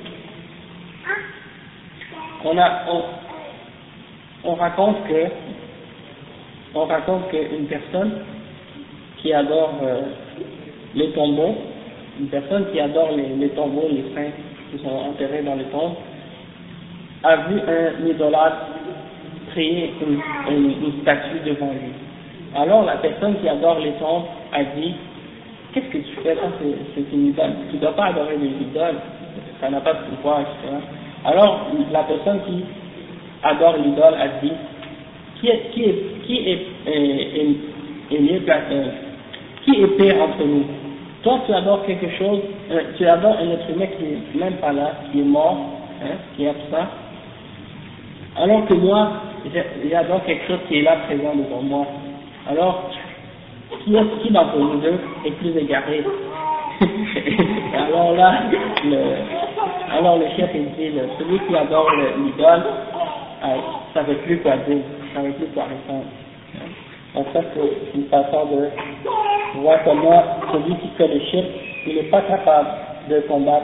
on a on, on raconte que on raconte qu'une personne qui adore euh, les tombeaux, une personne qui adore les, les tombeaux, les saints qui sont enterrés dans les tombes, a vu un idolâtre créer une, une, une statue devant lui. Alors la personne qui adore les tombes a dit qu'est-ce que tu fais là, c'est une idole, tu ne dois pas adorer les idoles, ça n'a pas de pouvoir, et cetera. Alors la personne qui adore l'idole a dit qui est, qui est, qui est, est, est, est mieux placé, qui est pire entre nous? Toi tu adores quelque chose, euh, tu adores un être humain qui n'est même pas là, qui est mort, hein, qui est absent, alors que moi j'adore quelque chose qui est là présent devant moi. Alors qui, est, qui d'entre nous deux est plus égaré? Alors là, le, alors le chef il dit, le, celui qui adore l'idole, euh, ça ne veut plus quoi dire, ça ne veut plus quoi répondre. Donc ça c'est une façon de voir comment celui qui fait le shirk, il n'est pas capable de combattre.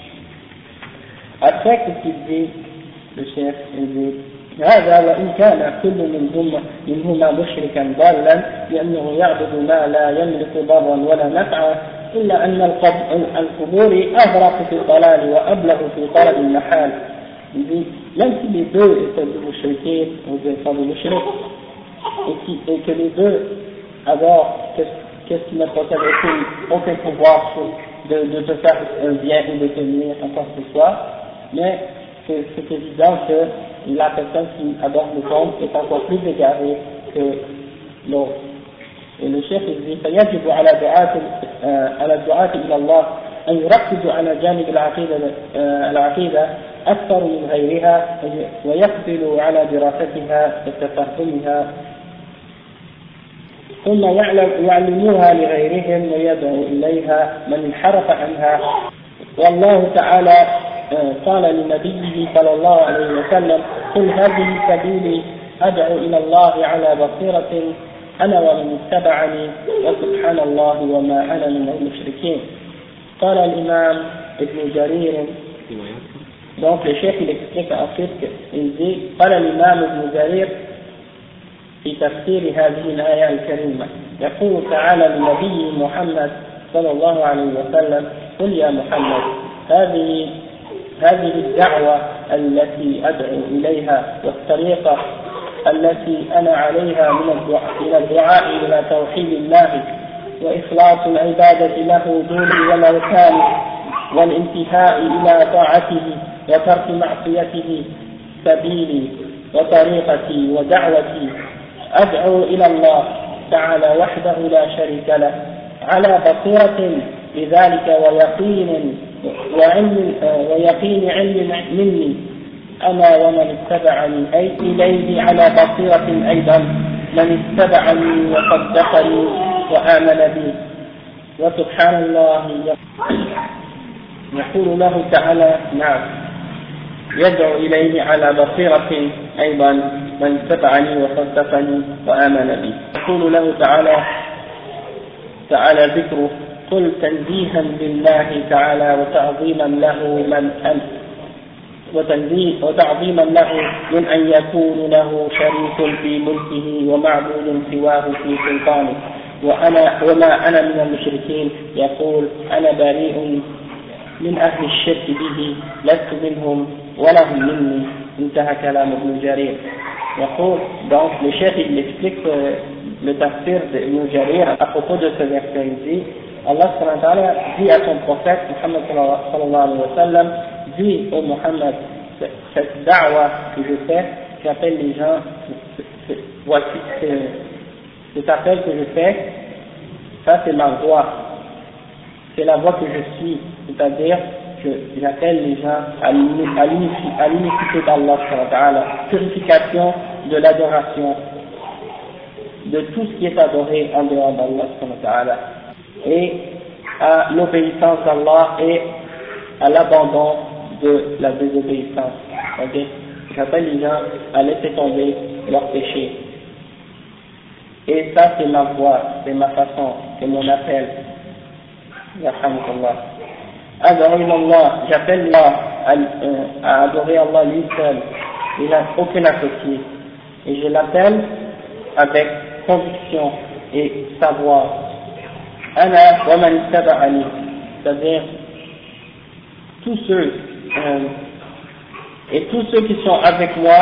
Après, qu'est-ce qu'il dit, le chef, il dit هذا وإن كان كل منهما منهما مشركا ضالا لأنه يعبد ما لا يملك ضرا ولا نفعا إلا أن القبور أغرق في الضلال وأبلغ في طلب المحال. Même si les deux étaient des mouchriqués ou des femmes mouchriques et, et que les deux adorent qu'est-ce qui ne possède aucun, aucun pouvoir de, de te faire un bien ou de te nuire en quoi que ce soit, mais c'est, c'est évident que la personne qui adore le tombe est encore plus égarée que l'autre. Et le chef il dit فيجب على دعاة على الدعاة إلى الله أن يركزوا على جانب العقيدة العقيدة أكثر من غيرها ويقبلوا على دراستها وتفهمها ثم يعلموها لغيرهم ويدعو إليها من انحرف عنها. والله تعالى قال لنبيه صلى الله عليه وسلم قل هذه سبيلي أدعو إلى الله على بصيرة أنا ومن اتبعني وسبحان الله وما أنا من المشركين. قال الإمام ابن جرير. Donc le chef il explique ensuite qu'il dit قال الإمام ابن جرير في تفسير هذه الآية الكريمة يقول تعالى لنبي محمد صلى الله عليه وسلم قل يا محمد هذه هذه الدعوة التي أدعو إليها والطريقة التي أنا عليها من الدعاء, من الدعاء إلى توحيد الله وإخلاص العبادة له دون والأوثان والانتهاء إلى طاعته وترك معصيته سبيلي وطريقتي ودعوتي أدعو إلى الله تعالى وحده لا شريك له على بصيرة بذلك ويقين وعلم ويقين علم مني أنا ومن اتبعني أي إليه على بصيرة أيضا من اتبعني وصدقني وآمن بي. وسبحان الله يقول له تعالى نعم يدعو إليه على بصيرة أيضا من اتبعني وصدقني وآمن بي. يقول له تعالى تعالى ذكره قل تنزيها لله تعالى وتعظيما له من أن وتعظيما له من أن يكون له شريك في ملكه ومعبود سواه في سلطانه وأنا وما أنا من المشركين يقول أنا بريء من أهل الشرك به لست منهم ولا هم مني انتهى كلام ابن جرير. يقول donc le chef il explique euh, le tafsir d'Ibn Jarir à propos de ce verset. Il dit Allah subhanahu wa ta'ala dit à son prophète Muhammad sallallahu alayhi wa sallam, dit au Muhammad, cette da'wa que je fais, j'appelle les gens, voici cet appel que je fais, ça c'est ma voix, c'est la voix que je suis, c'est-à-dire que j'appelle les gens à l'unicité d'Allah subhanahu wa ta'ala, purification de l'adoration de tout ce qui est adoré en dehors d'Allah subhanahu wa ta'ala, et à l'obéissance d'Allah et à l'abandon de la désobéissance. Okay? J'appelle les gens à laisser tomber leurs péchés. Et ça c'est ma voix, c'est ma façon, c'est mon appel. Yahhamdulillah. Allah, j'appelle Allah à, euh, à adorer Allah lui seul. Il n'a aucun associé. Et je l'appelle avec conviction et savoir. Ana wa man ittaba'ani, c'est-à-dire tous ceux euh, et tous ceux qui sont avec moi,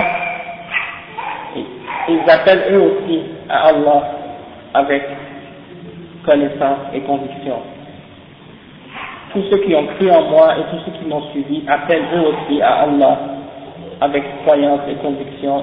ils appellent eux aussi à Allah avec connaissance et conviction. Tous ceux qui ont cru en moi et tous ceux qui m'ont suivi appellent eux aussi à Allah avec croyance et conviction.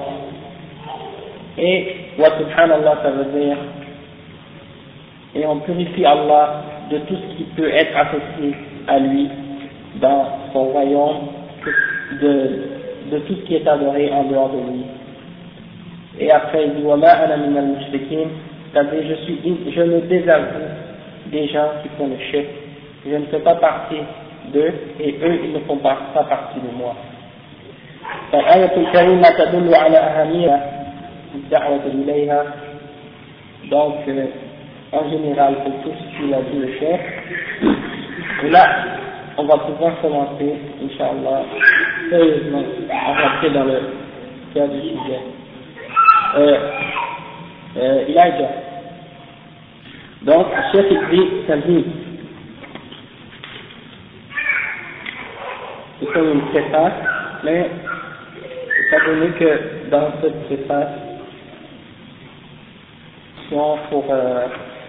Et wa subhanallah, ça veut dire et on purifie Allah de tout ce qui peut être associé à lui dans son royaume, de, de tout ce qui est adoré en dehors de lui. Et après il dit wa ma ana min al-mushrikin, c'est-à-dire je suis, je me désavoue des gens qui font le shirk, je ne fais pas partie d'eux et eux ils ne font pas, pas partie de moi. فالآية الكريمة تدل على أهمية الدعوة إليها. Donc euh, en général pour tout ce qu'il a dit le chef. Et là, on va pouvoir commencer, Inch'Allah, sérieusement, à rentrer dans le cœur du sujet. Euh, euh, Elijah. Donc, le chef il dit, Tamhid. C'est comme une préface, mais étant donné que dans cette préface, pour euh,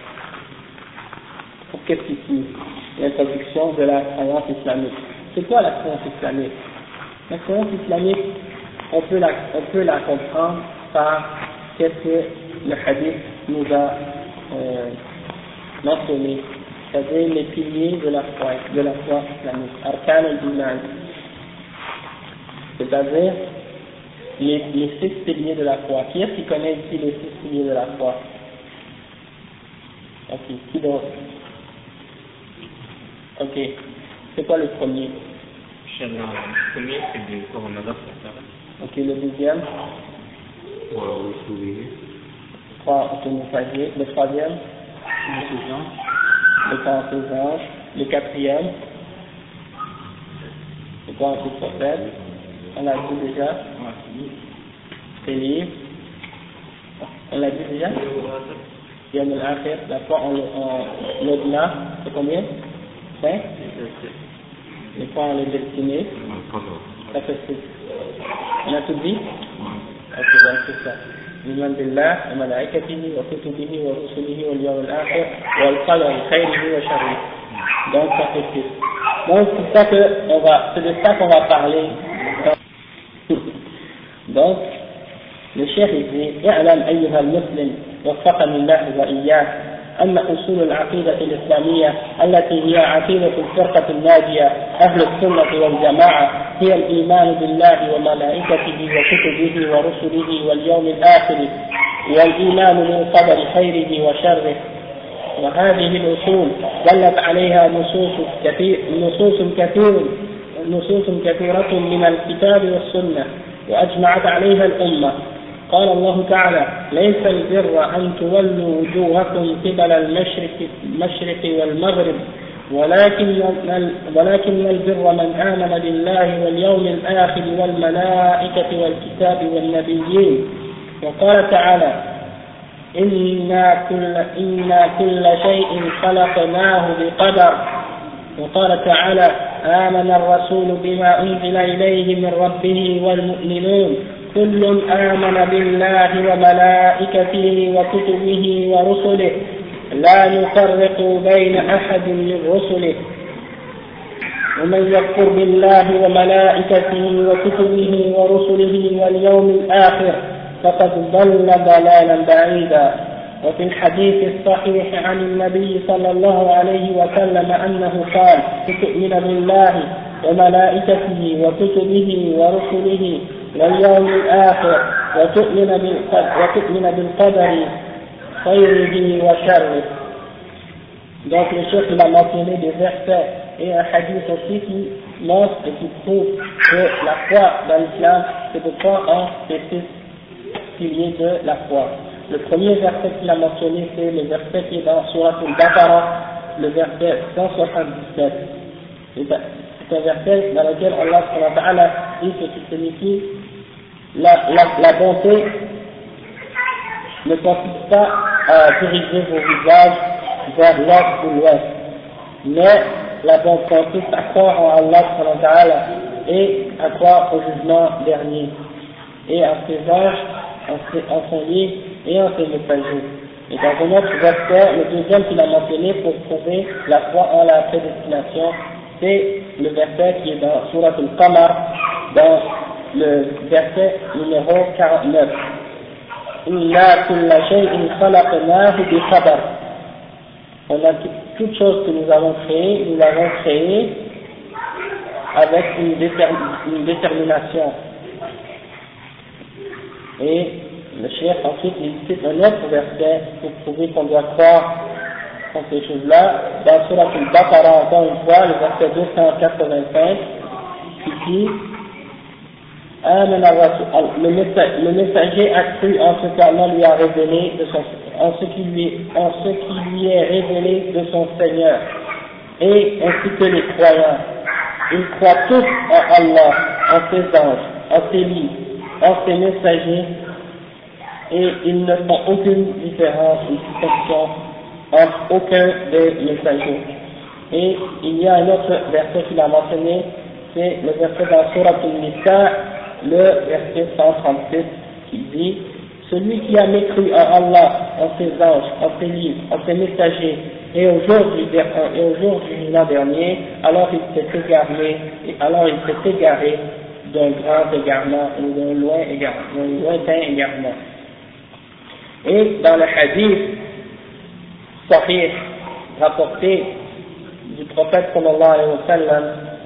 pour qu'est-ce qu'ici l'introduction de la croyance islamique. C'est quoi la croyance islamique? La croyance islamique, on peut la, on peut la comprendre par qu'est-ce que le hadith nous a euh, mentionné, c'est-à-dire les piliers de la foi, de la foi islamique, arkan al-iman, c'est-à-dire les, les six piliers de la foi. Qui est-ce qui connaît ici les six piliers de la foi? Ok, qui d'autre? Ok, c'est quoi le premier? Le premier, c'est du coronavirus. Ok, le deuxième? Trois autonophagés. Le troisième? Le quarante-deux anges. Le quatrième? Le quarante-deux prophètes. On l'a dit déjà? Les livres. On l'a dit déjà? Yom al-Akhir, la foi en l'au-delà, c'est combien? cinq? Les fois en les destinés, ça fait six. On a tout dit? Ok, donc c'est ça. Liman billah, wa malaikatihi, wa kutubihi, wa rusulihi, wa al-yawm al-akhir, wa al-qadar, khayrihi wa sharrihi. Donc ça fait six. Donc c'est ça que on va, c'est de ça qu'on va parler. Donc, le cheikh il dit, اعلم أيها المسلم وفقني الله وإياك أن أصول العقيدة الإسلامية التي هي عقيدة الفرقة الناجية أهل السنة والجماعة هي الإيمان بالله وملائكته وكتبه ورسله واليوم الآخر والإيمان بالقدر خيره وشره. وهذه الأصول دلت عليها نصوص كثير نصوص كثير نصوص كثيرة من الكتاب والسنة وأجمعت عليها الأمة قال الله تعالى ليس البر أن تولوا وجوهكم قبل المشرق, المشرق والمغرب ولكن, ولكن البر من آمن بالله واليوم الآخر والملائكة والكتاب والنبيين. وقال تعالى إنا كل, إنا كل شيء خلقناه بقدر. وقال تعالى آمن الرسول بما أنزل إليه من ربه والمؤمنون كل آمن بالله وملائكته وكتبه ورسله لا نفرق بين أحد من رسله ومن يكفر بالله وملائكته وكتبه ورسله واليوم الآخر فقد ضل ضلالا بعيدا. وفي الحديث الصحيح عن النبي صلى الله عليه وسلم أنه قال تؤمن بالله وملائكته وكتبه ورسله واليوم الآخر وتؤمن وتؤمن بالقدر خيره وشره. Donc le chef il a mentionné des versets et un hadith aussi qui montre et qui prouve que la foi dans l'islam c'est de croire en ces six piliers de la foi. Le premier verset qu'il a mentionné c'est le verset qui est dans Surat al-Baqarah, le verset cent soixante-dix-sept. C'est un verset dans lequel Allah subhanahu wa ta'ala dit ce qui signifie la, la, la bonté ne consiste pas à diriger vos visages vers l'est ou l'ouest, mais la bonté consiste à croire en Allah subhanahu wa ta'ala et à croire au jugement dernier et en ses anges, en son livre et en ses messagers. Et dans un autre verset, le deuxième qu'il a mentionné pour prouver la foi en la prédestination, c'est le verset qui est dans Surat al-Qamar, dans le verset numéro quarante-neuf. Inna kulla shay'in khalaqnahu bi qadar. On a toute chose que nous avons créée, nous l'avons créée avec une, déterm une détermination. Et le chef ensuite il cite un autre verset pour prouver qu'on doit croire en ces choses-là. Dans Surat al-Baqarah, encore une fois, le verset deux cent quatre-vingt-cinq, qui dit le messager a cru en ce qu'Allah lui a révélé de son, en ce qui lui, en ce qui lui est révélé de son Seigneur, et ainsi que les croyants. Ils croient tous en Allah, en ses anges, en ses livres, en ses messagers, et ils ne font aucune différence ou distinction entre aucun des messagers. Et il y a un autre verset qu'il a mentionné, c'est le verset dans Surat al-Nisa, le verset cent trente-six, qui dit celui qui a mécru en Allah, en ses anges, en ses livres, en ses messagers, et au jour du, et au jour du jugement dernier, alors il s'est égaré, alors il s'est égaré d'un grand égarement ou d'un loin égarement, d'un lointain égarement. Et dans le hadith sahih rapporté du prophète sallallahu alayhi wa sallam,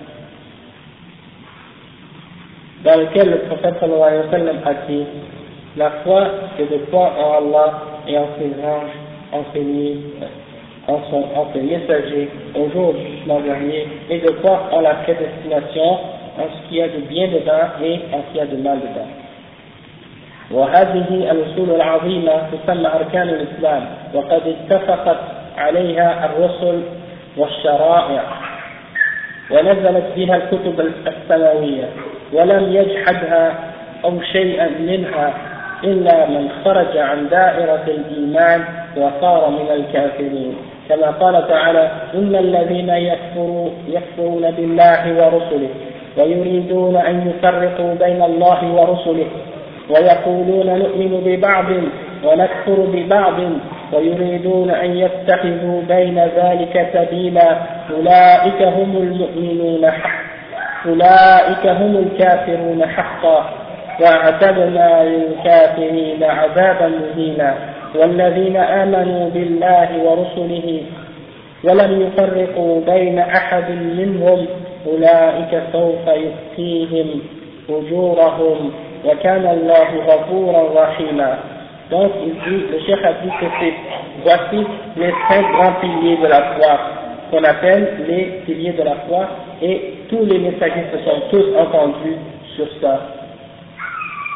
dans lequel le prophète sallallahu alayhi wa sallam a dit la foi c'est de croire en Allah et en ses anges, en ses livres, en, son, en ses messagers au jour du jugement dernier, et de croire en la prédestination, en ce qu'il y a de bien dedans et en ce qu'il y a de mal dedans. وهذه الأصول العظيمة تسمى أركان الإسلام وقد اتفقت عليها الرسل والشرائع ونزلت بها الكتب السماوية ولم يجحدها أو شيئا منها إلا من خرج عن دائرة الإيمان وصار من الكافرين كما قال تعالى إن الذين يكفروا يكفرون بالله ورسله ويريدون أن يفرقوا بين الله ورسله ويقولون نؤمن ببعض ونكفر ببعض ويريدون أن يتخذوا بين ذلك سبيلا أولئك هم المؤمنون حقا أولئك هم الكافرون حقا وأعتدنا للكافرين عذابا مهينا والذين آمنوا بالله ورسله ولم يفرقوا بين أحد منهم أولئك سوف يؤتيهم أجورهم وكان الله غفورا رحيما. Donc il dit, le cheikh a dit que c'est, voici les cinq grands piliers de la foi, qu'on appelle les piliers de la foi, et tous les messagers se sont tous entendus sur ça.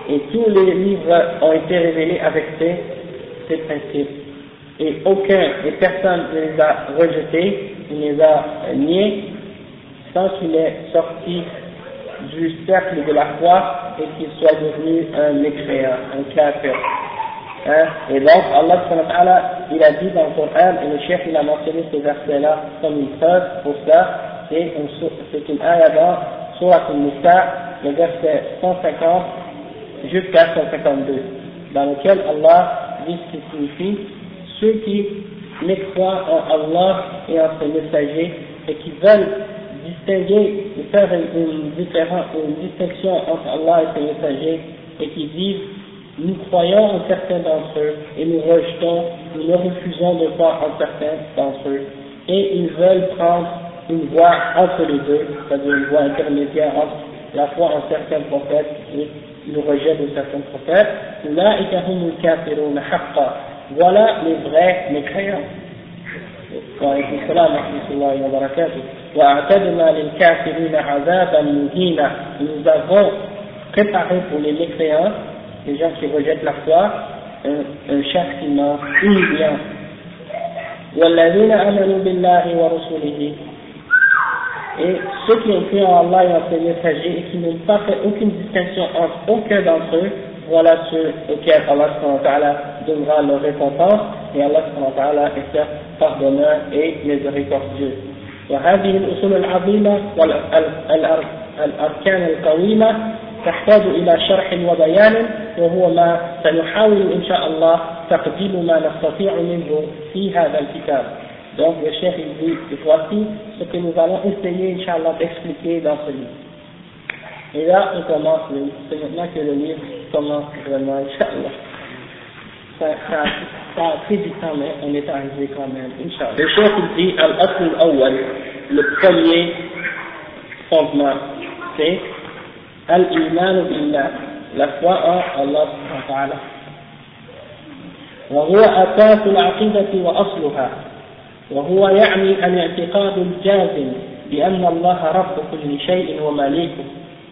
et tous les livres ont été révélés avec ces, ces principes. Et aucun, et personne ne les a rejetés, ne les a niés, sans qu'il ait sorti du cercle de la foi et qu'il soit devenu un mécréant, un kafir. Hein? Et donc, Allah subhanahu wa ta'ala, il a dit dans le Coran, et le chef il a mentionné ces versets-là comme une preuve pour ça, c'est une, une ayah dans Surat al-Nisa, le verset cent cinquante jusqu'à cent cinquante-deux, dans lequel Allah dit ce qui signifie ceux qui mécroient en Allah et en ses messagers et qui veulent distinguer, faire une, différence, une distinction entre Allah et ses messagers et qui disent nous croyons en certains d'entre eux et nous rejetons, nous ne refusons de croire en certains d'entre eux et ils veulent prendre une voie entre les deux, c'est-à-dire une voie intermédiaire entre la foi en certains prophètes et le rejet de certains prophètes. Voilà les vrais mécréants. وعليكم السلام ورحمة الله وبركاته. وأعتدنا للكافرين عذابا مهينا. Nous avons préparé pour les mécréants, les gens qui rejettent la foi, un, un châtiment humiliant. والذين آمنوا بالله ورسوله. Et ceux qui ont cru en Allah et en ses messagers et qui n'ont pas fait aucune distinction entre aucun d'entre eux, voilà ceux auxquels Allah subhanahu wa ta'ala donnera leur récompense, et Allah subhanahu wa ta'ala est certes pardonneur et miséricordieux. وهذه الأصول العظيمة والأركان القويمة تحتاج إلى شرح وبيان وهو ما سنحاول إن شاء الله تقديم ما نستطيع منه في هذا الكتاب. Donc le chef il dit, voici ce que nous allons essayer, Inch'Allah, d'expliquer dans ce livre. Et là, on commence le livre. C'est maintenant que le livre commence vraiment, Inch'Allah. Ça, ça, ça a pris du temps, mais on est arrivé quand même, Inch'Allah. Le chef il dit, Al-Asl al-Awwal, le premier fondement, c'est Al-Iman billah, la foi en Allah subhanahu wa ta'ala. وهو أساس العقيدة وأصلها. وهو يعني الاعتقاد الجازم بأن الله رب كل شيء ومالكه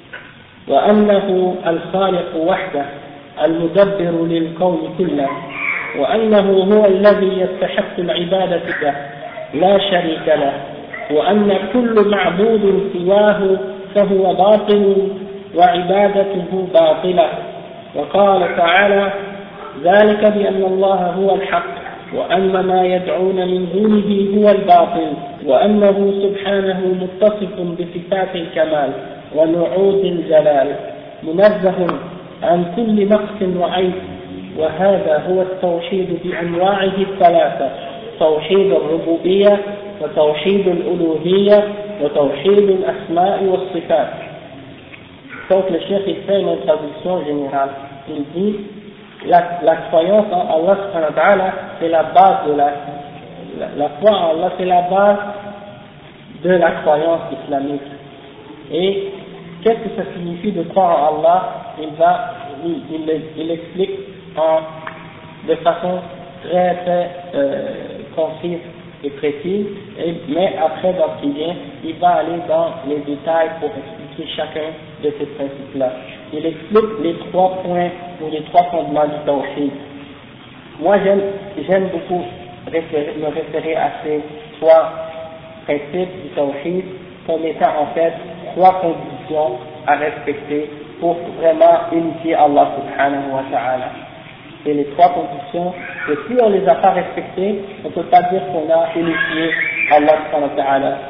وأنه الخالق وحده المدبر للكون كله وأنه هو الذي يستحق العبادة له لا شريك له وأن كل معبود سواه فهو باطل وعبادته باطلة. وقال تعالى ذلك بأن الله هو الحق وأن ما يدعون من دونه هو الباطل وأنه سبحانه متصف بصفات الكمال ونعوت الجلال منزه عن كل نقص وعيب. وهذا هو التوحيد بأنواعه الثلاثة، توحيد الربوبية وتوحيد الألوهية وتوحيد الأسماء والصفات. Donc le chef il fait une traduction générale. Il dit La, la croyance en Allah subhanahu wa ta'ala, c'est la base de la, la, la foi en Allah, c'est la base de la croyance islamique. Et qu'est-ce que ça signifie de croire en Allah? Il va, il, il, il explique en, de façon très très euh, concise et précise, et, mais après dans ce qui vient, il va aller dans les détails pour expliquer chacun de ces principes-là. Il explique les trois points ou les trois fondements du tawhid. Moi j'aime, j'aime beaucoup référer, me référer à ces trois principes du tawhid comme étant en fait trois conditions à respecter pour vraiment unifier Allah subhanahu wa ta'ala. Et les trois conditions, et si on ne les a pas respectées, on ne peut pas dire qu'on a unifié Allah subhanahu wa ta'ala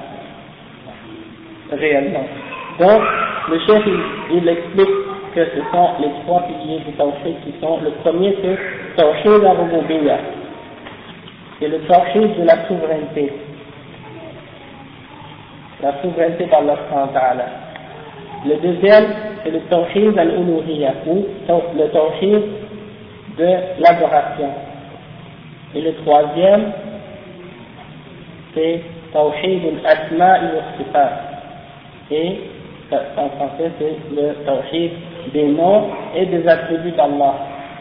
réellement. Donc, le chef il, il explique que ce sont les trois piliers du tawhid qui sont, le premier c'est tawhid al-rububiyya, c'est le tawhid de la souveraineté, la souveraineté d'Allah subhanahu wa ta'ala. Le deuxième c'est le tawhid al-uluhiyya, ou le tawhid de l'adoration. Et le troisième c'est tawhid al-asma' wa sifat, et en français c'est le tawhid des noms et des attributs d'Allah.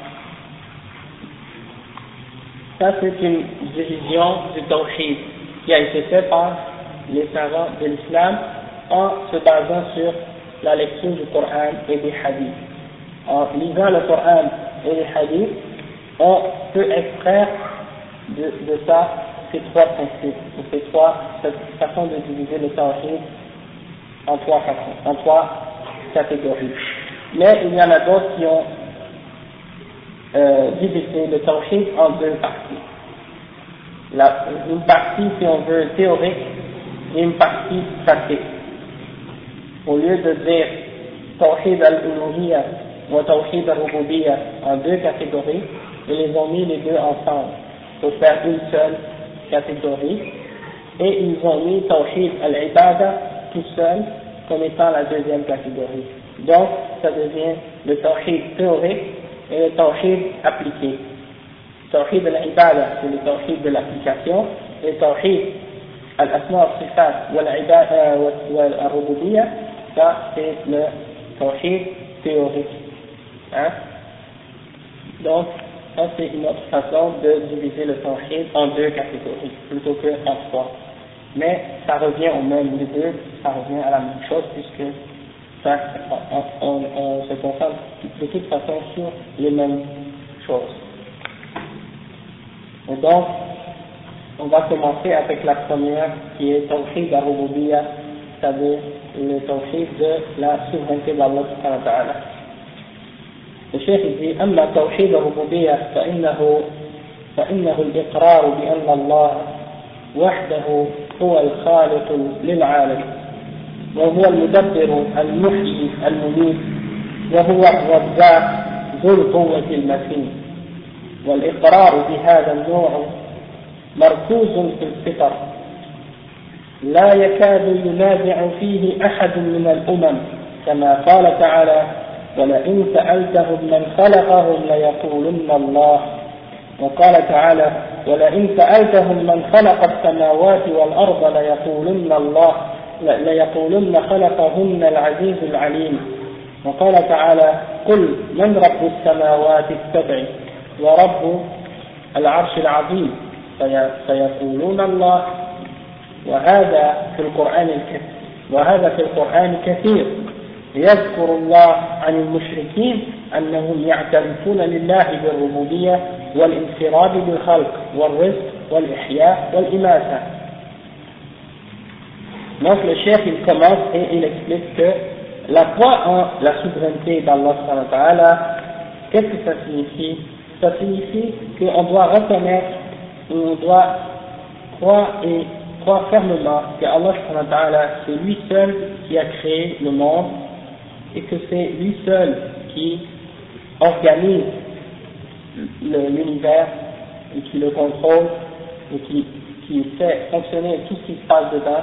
Ça c'est une division du tawhid qui a été faite par les savants de l'islam en se basant sur la lecture du Coran et des hadiths. en lisant le Coran et les hadiths, on peut extraire de, de ça ces trois principes, ou ces trois façons de diviser le tawhid en trois façons, en trois catégories. Mais il y en a d'autres qui ont euh, divisé le tawhid en deux parties. La, une partie, si on veut, théorique et une partie pratique. Au lieu de dire tawhid al-uluhiyya ou tawhid al-rububiyya en deux catégories, ils les ont mis les deux ensemble pour faire une seule catégorie, et ils ont mis tawhid al-ibada tout seul comme étant la deuxième catégorie. Donc ça devient le tawhid théorique et le tawhid appliqué. Tawhid al-ibada, c'est le tawhid de l'application, et tawhid al-asma al-sifat wal-rububiyya, ça c'est le tawhid théorique. Hein? Donc ça c'est une autre façon de diviser le tawhid en deux catégories plutôt qu'en trois. Mais ça revient au même, les deux, ça revient à la même chose puisque ça, on, on, on se concentre de toute façon sur les mêmes choses. Et donc, on va commencer avec la première qui est Tawhid al-Rububiyya, c'est-à-dire le Tawhid de la souveraineté d'Allah subhanahu wa ta'ala. Le Cheikh dit أما توحيد الربوبية فإنه فإنه الإقرار بأن الله وحده هو الخالق للعالم وهو المدبر المحيي المميت وهو الرزاق ذو القوة المتين. والإقرار بهذا النوع مركوز في الفطر لا يكاد ينازع فيه أحد من الأمم كما قال تعالى ولئن سألتهم من خلقهم ليقولن الله. وقال تعالى ولئن سألتهم من خلق السماوات والأرض ليقولن الله ليقولن خلقهن العزيز العليم. وقال تعالى قل من رب السماوات السبع ورب العرش العظيم فيقولون الله. وهذا في القرآن الكثير وهذا في القرآن كثير يذكر الله عن المشركين أنهم يعترفون لله بالربوبية والانفراد بالخلق والرزق والإحياء والإماتة. Donc le chef il commence et il explique que la foi en la souveraineté d'Allah subhanahu wa ta'ala, qu'est-ce que ça signifie? Ça signifie qu'on doit reconnaître, on doit croire et croire fermement que Allah subhanahu wa ta'ala c'est lui seul qui a créé le monde et que c'est lui seul qui organise l'univers et qui le contrôle et qui, qui fait fonctionner tout ce qui se passe dedans,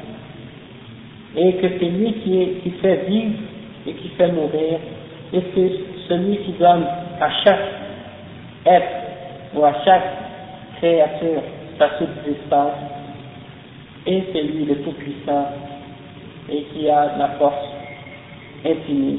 et que c'est lui qui, est, qui fait vivre et qui fait mourir, et c'est celui qui donne à chaque être ou à chaque créature sa subsistance, et c'est lui le tout-puissant et qui a la force infinie.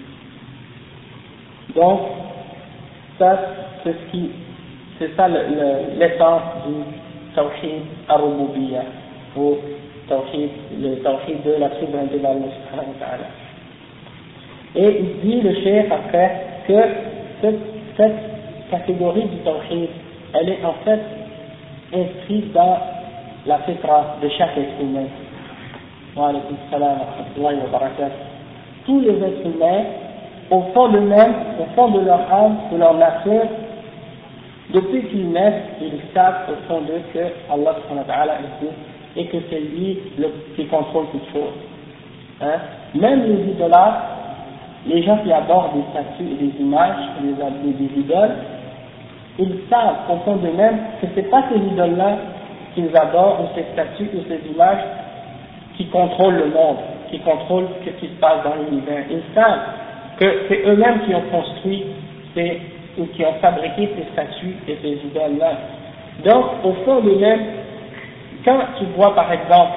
Donc ça c'est ce qui c'est ça le, le, l'essence du tawhid al-rububiyya ou tawhid, le tawhid de la souveraineté d'Allah subhanahu wa ta'ala. Et il dit le cheikh après que cette, cette catégorie du tawhid elle est en fait inscrite dans la fitra de chaque être humain. Wa alaykum salam wa rahmatullahi wa barakatuh. Tous les êtres humains, au fond d'eux-mêmes, au fond de leur âme, de leur nature, depuis qu'ils naissent, ils savent au fond d'eux que Allah subhanahu wa ta'ala existe et que c'est lui le, qui contrôle toutes choses. Hein? Même les idolâtres, les gens qui adorent des statues et des images, des, des, des idoles, ils savent au fond d'eux-mêmes que ce n'est pas ces idoles-là qu'ils adorent, ou ces statues, ou ces images, qui contrôlent le monde, qui contrôlent ce qui se passe dans l'univers. Ils savent que c'est eux-mêmes qui ont construit ces, ou qui ont fabriqué ces statues et ces idoles-là. Donc, au fond d'eux-mêmes, quand tu vois par exemple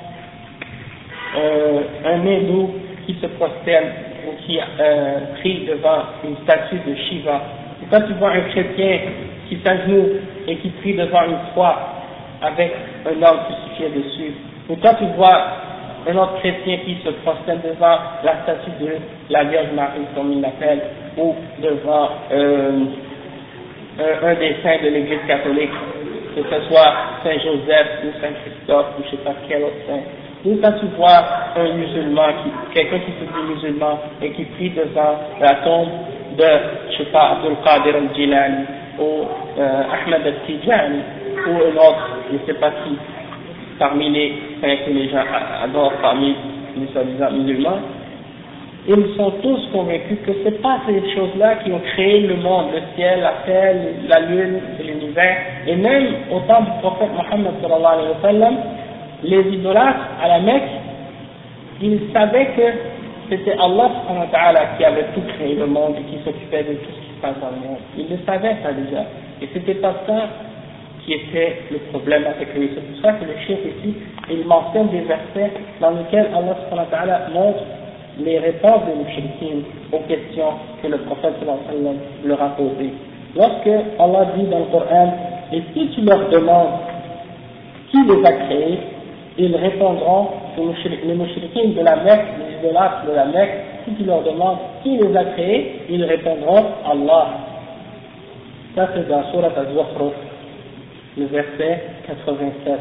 euh, un hindou qui se prosterne ou qui euh, prie devant une statue de Shiva, ou quand tu vois un chrétien qui s'agenouille et qui prie devant une croix avec un homme crucifié dessus, ou quand tu vois un autre chrétien qui se prosterne devant la statue de la Vierge Marie, comme il l'appelle, ou devant euh, un, un des saints de l'Église catholique, que ce soit Saint Joseph ou Saint Christophe ou je ne sais pas quel autre saint. Ou quand tu vois un musulman, qui, quelqu'un qui se dit musulman et qui prie devant la tombe de, je sais pas, Abdul Qadir al-Jilani ou euh, Ahmed al-Tijani ou un autre, je ne sais pas qui, parmi les saints que les gens adorent parmi les soi-disant musulmans, ils sont tous convaincus que ce n'est pas ces choses-là qui ont créé le monde, le ciel, la terre, la lune, l'univers, et même au temps du prophète Mohammed sallallahu alayhi wa sallam, les idolâtres à la Mecque, ils savaient que c'était Allah subhanahu wa ta'ala qui avait tout créé le monde et qui s'occupait de tout ce qui se passe dans le monde. Ils le savaient ça déjà, et c'était pas ça qui était le problème avec eux. C'est pour ça que le chef ici, il mentionne des versets dans lesquels Allah subhanahu wa ta'ala montre les réponses des mouchriquines aux questions que le prophète sallallahu alayhi wa sallam leur a posées. Lorsque Allah dit dans le Coran, et si tu leur demandes qui les a créés, ils répondront, les mouchriquines de la Mecque, les idolâtres de la Mecque, si tu leur demandes qui les a créés, ils répondront Allah. Ça c'est dans Surat Az-Zukhruf, le verset quatre-vingt-sept.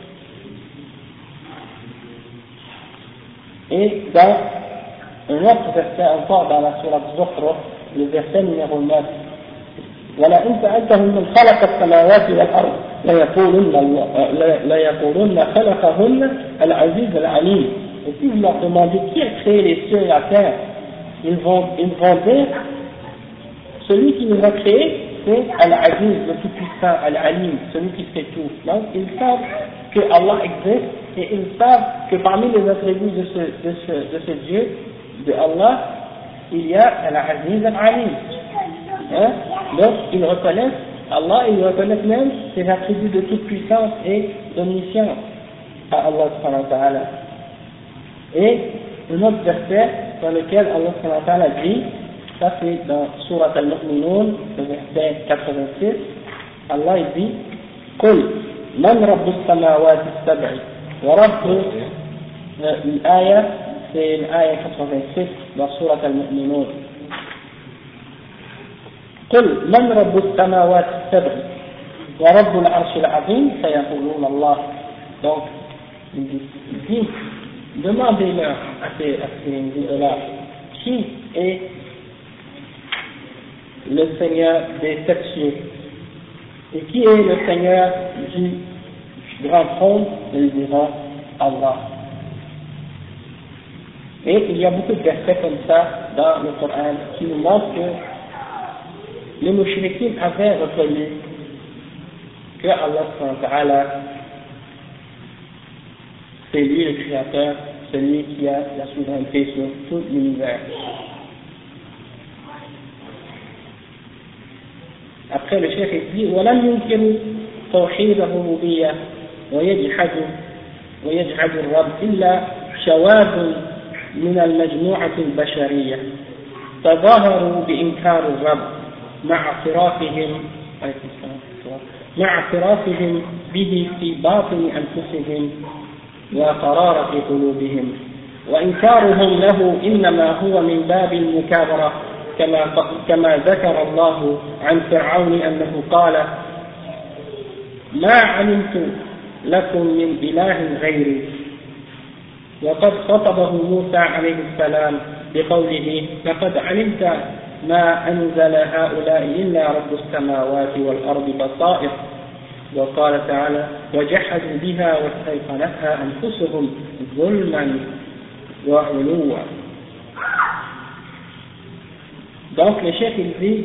Et dans un autre verset encore dans la Surat Az-Zukhruf, le verset numéro neuf, ولئن سألتهم من خلق السماوات والأرض ليقولن الله ليقولن خلقهن العزيز العليم. Et si vous leur demandez qui a créé les cieux et la terre, ils vont, ils vont dire celui qui nous a créés, c'est Al-Aziz, le tout-puissant, Al-Alim, celui qui fait tout. Donc ils savent que Allah existe et ils savent que parmi les attributs de ce, de ce, de ce Dieu, de Allah, il y a Al-Aziz Al-Alim. Hein? Donc ils reconnaissent Allah, ils reconnaissent même ses attributs de toute puissance et d'omniscience à Allah subhanahu wa ta'ala. Et un autre verset dans lequel Allah subhanahu wa ta'ala dit, ça c'est dans Surat Al-Mu'minun, le verset quatre-vingt-six, Allah il dit قل من رب السماوات السبع ورب الآية c'est l'آية quatre-vingt-six dans Surat Al-Mu'minun. قل من رب السماوات السبع ورب العرش العظيم سيقولون الله. Donc il dit, demandez-leur à ces, à ces idolâtres qui est le Seigneur des sept cieux et qui est le Seigneur du grand trône. Ils diront Allah. Et il y a beaucoup de versets comme ça dans le Coran qui nous montrent que les mouchriquins avaient reconnu que Allah subhanahu wa ta'ala c'est lui le créateur, celui qui a la souveraineté sur tout l'univers. Après le chef dit وَلَمْ يُنْكِرُوا تَوْحِيدَ الرُّبُوبِيَّةِ وَيَجْحَدُوا وَيَجْحَدُ الرَّبَّ إِلَّا شَوَاذٌ من المجموعة البشرية تظاهروا بإنكار الرب مع اعترافهم مع اعترافهم به في باطن أنفسهم وقرار في قلوبهم وإنكارهم له إنما هو من باب المكابرة كما كما ذكر الله عن فرعون أنه قال ما علمت لكم من إله غيري. وقد خطبه موسى عليه السلام بقوله لقد علمت ما أنزل هؤلاء إلا رب السماوات والأرض بصائر. وقال تعالى وجحدوا بها واستيقنتها أنفسهم ظلما وعلوا. Donc le chef il dit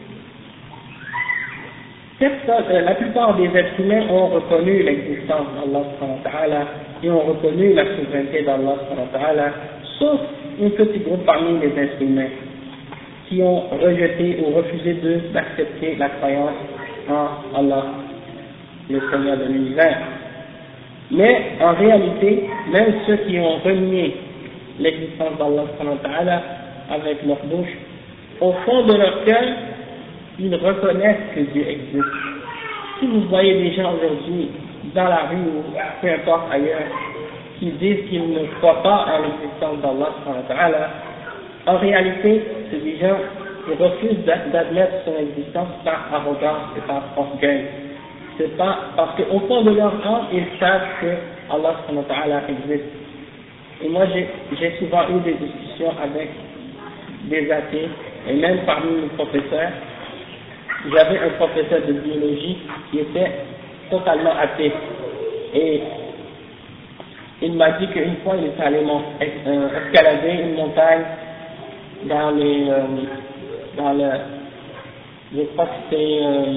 la plupart des êtres humains ont reconnu l'existence d'Allah subhanahu wa ta'ala et ont reconnu la souveraineté d'Allah subhanahu wa ta'ala, sauf un petit groupe parmi les êtres humains qui ont rejeté ou refusé de, d'accepter la croyance en Allah, le Seigneur de l'univers. Mais en réalité, même ceux qui ont renié l'existence d'Allah subhanahu wa ta'ala avec leur bouche, au fond de leur cœur, ils reconnaissent que Dieu existe. Si vous voyez des gens aujourd'hui dans la rue ou peu importe ailleurs qui disent qu'ils ne croient pas à l'existence d'Allah subhanahu wa ta'ala, en réalité, c'est des gens qui refusent d'admettre son existence par arrogance et par orgueil. C'est pas parce qu'au fond de leur âme, ils savent que Allah subhanahu wa ta'ala existe. Et moi, j'ai souvent eu des discussions avec des athées, et même parmi mes professeurs. J'avais un professeur de biologie qui était totalement athée. Et il m'a dit qu'une fois, il est allé euh, escalader une montagne dans les, euh, dans le, je crois que c'était, euh,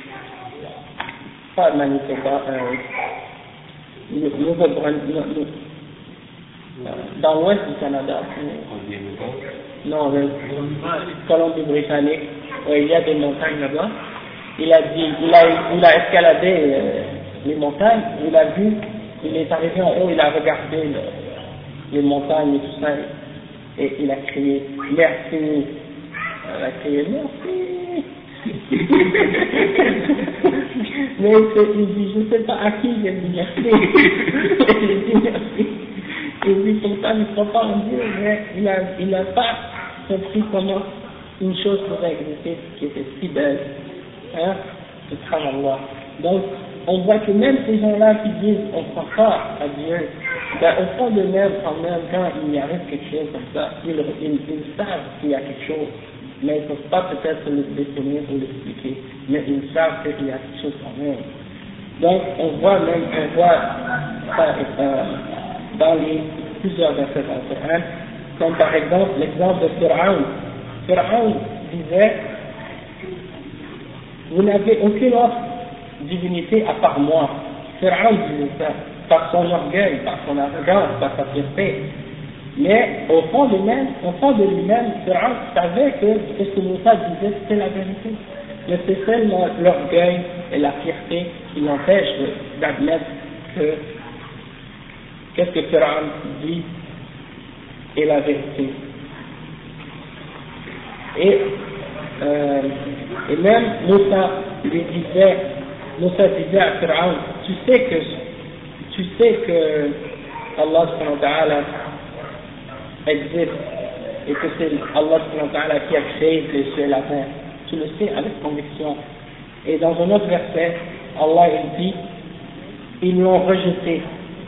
pas Manitoba, euh, Nouveau-Brunswick, dans l'ouest du Canada. Non, le Colombie-Britannique, il y a des montagnes là-bas. Il a dit, il a, il a escaladé euh, les montagnes, il a vu, il est arrivé en haut, il a regardé le, les montagnes et tout ça, et il a crié merci. Il a crié merci. Mais il dit, je ne sais pas à qui il a dit merci. Il dit merci. Il dit pourtant il ne croit pas en Dieu, mais il n'a il a pas compris comment une chose pourrait exister qui était si belle. Hein? Subhanallah. Donc, on voit que même ces gens-là qui disent on ne croit pas à Dieu, ben, au fond de même, en même temps, il y arrive quelque chose comme ça. Ils, ils, ils savent qu'il y a quelque chose, mais ils ne peuvent pas peut-être le définir ou l'expliquer, mais ils savent qu'il y a quelque chose quand même. Donc, on voit même, on voit ça euh, dans les plusieurs versets dans le Coran, comme par exemple l'exemple de Pharaon. Pharaon disait, vous n'avez aucune autre divinité à part moi. Pharaon disait ça, par son orgueil, par son arrogance, par sa fierté. Mais au fond de lui-même, au fond de lui-même, Pharaon savait que ce que Moussa disait, c'était la vérité. Mais c'est seulement l'orgueil et la fierté qui l'empêchent d'admettre que qu'est-ce que Pharaon dit est la vérité. Et, euh, et même Moussa lui disait, Moussa disait à Pharaon, tu sais que tu sais que Allah subhanahu wa ta'ala existe et que c'est Allah subhanahu wa ta'ala qui a créé les cieux et la terre. Tu le sais avec conviction. Et dans un autre verset, Allah il dit, ils l'ont rejeté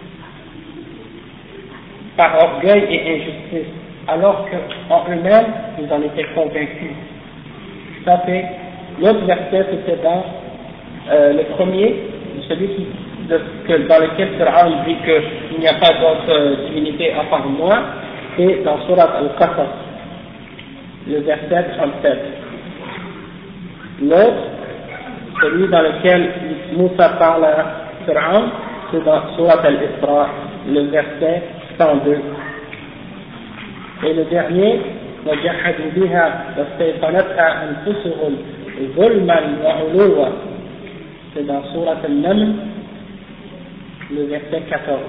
par orgueil et injustice, alors qu'en eux-mêmes, ils en étaient convaincus. Ça fait, l'autre verset, c'était dans euh, le premier, celui qui, de, que, dans lequel Pharaon dit qu'il n'y a pas d'autre euh, divinité à part moi, et dans Surat Al-Qasas, le verset trente-sept. L'autre, celui dans lequel Moussa parle à Pharaon, c'est dans Surat Al-Isra, le verset cent deux. Et le dernier, وَجَحَدُوا بِهَا وَاسْتَيْقَنَتْهَا أَنفُسُهُمْ ظُلْمًا وَعُلُوًّا. C'est dans Surat Al-Naml, le verset quatorze.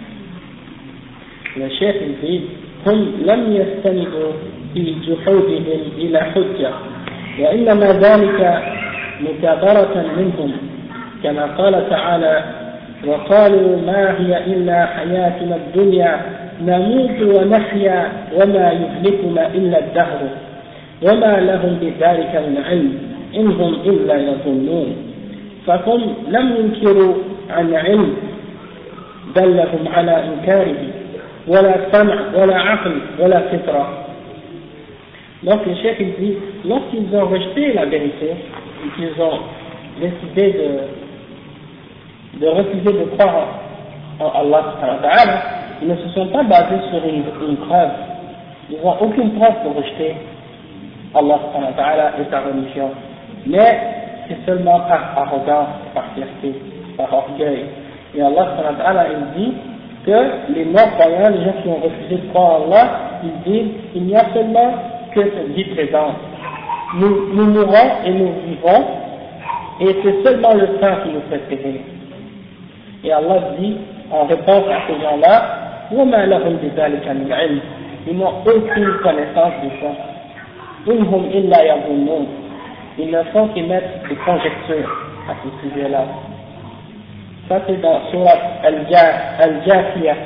Le chef il dit, هم لم يستندوا في جحودهم إلى حجة وإنما ذلك مكابرة منهم كما قال تعالى وقالوا ما هي إلا حياتنا الدنيا نموت ونحيا وما يهلكنا إلا الدهر وما لهم بذلك من علم إن هم إلا يظنون فهم لم ينكروا عن علم دلهم على إنكاره ولا سمع ولا عقل ولا فطرة. Donc le chef il dit, lorsqu'ils ont rejeté la vérité et qu'ils ont décidé de, de refuser de croire en Allah subhanahu wa ta'ala, ils ne se sont pas basés sur une, une preuve. Ils n'ont aucune preuve pour rejeter Allah subhanahu wa ta'ala et sa religion. Mais c'est seulement par arrogance, par fierté, par orgueil. Et Allah subhanahu wa ta'ala il dit que les non-croyants, les gens qui ont refusé de croire en Allah, ils disent il n'y a seulement que cette vie présente. Nous, nous mourrons et nous vivons, et c'est seulement le temps qui nous fait périr. Et Allah dit en réponse à ces gens-là, وَمَا لَهُمْ بِذَلِكَ مِنْ عِلْمٍ. Ils n'ont aucune connaissance de ça. إِنْ هُمْ إِلَّا يَظُنُّونَ. Ils ne font qu'émettre des conjectures à ce sujet-là. Ça c'est dans Surat Al-Jathiyah,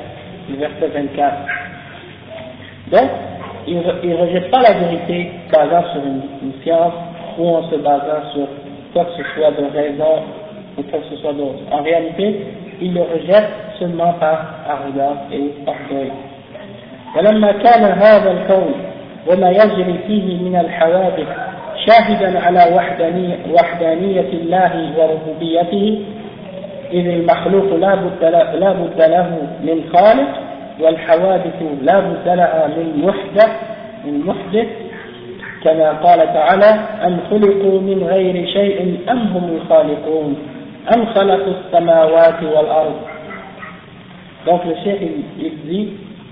le verset vingt-quatre. Donc, il ne rejette pas la vérité basant sur une, une science ou en se basant sur quoi que ce soit de raison ou quoi que ce soit d'autre. En réalité, il le rejette seulement par arrogance et orgueil. ولما كان هذا الكون وما يجري فيه من الحوادث شاهدا على وحدانية, وحدانية الله وربوبيته إذ المخلوق لا بد لا بد له من خالق والحوادث لا بد لها من محدث من محدث كما قال تعالى أم خلقوا من غير شيء أم هم الخالقون أم خلقوا السماوات والأرض. Donc le cheikh il, il dit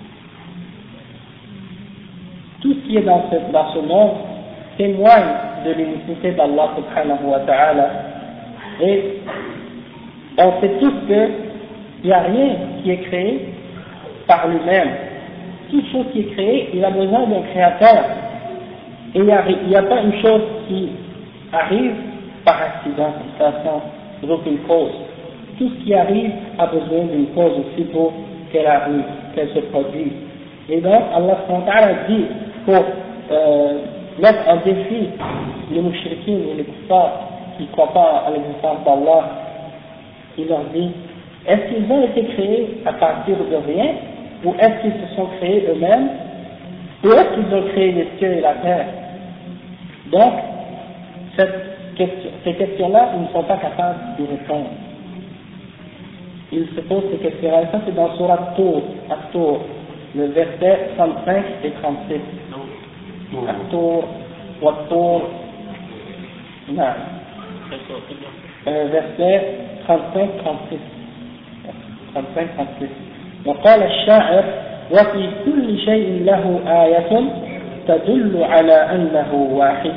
tout ce qui est dans ce, dans ce monde témoigne de l'unicité d'Allah subhanahu wa ta'ala, et on sait tous qu'il n'y a rien qui est créé par lui-même. Toute chose qui est créée, il a besoin d'un créateur, et il n'y a, a pas une chose qui arrive par accident, sans aucune cause. Tout ce qui arrive a besoin d'une cause aussi pour qu'elle arrive, qu'elle se produise. Et donc Allah subhanahu wa ta'ala dit pour euh, mettre en défi les mouchriquins et les kuffars qui ne croient pas à l'existence d'Allah, il leur dit, est-ce qu'ils ont été créés à partir de rien, ou est-ce qu'ils se sont créés eux-mêmes, ou est-ce qu'ils ont créé les cieux et la terre? Donc, cette question, ces questions-là, ils ne sont pas capables d'y répondre. Ils se posent ces questions-là, et ça c'est dans Surat Tour, At-Tour, le verset trente-cinq et trente-six. At-Tour, Wat-Tour, non. verset trente-cinq trente-six. trente-cinq trente-six. وقال الشاعر وفي كل شيء له آية تدل على أنه واحد.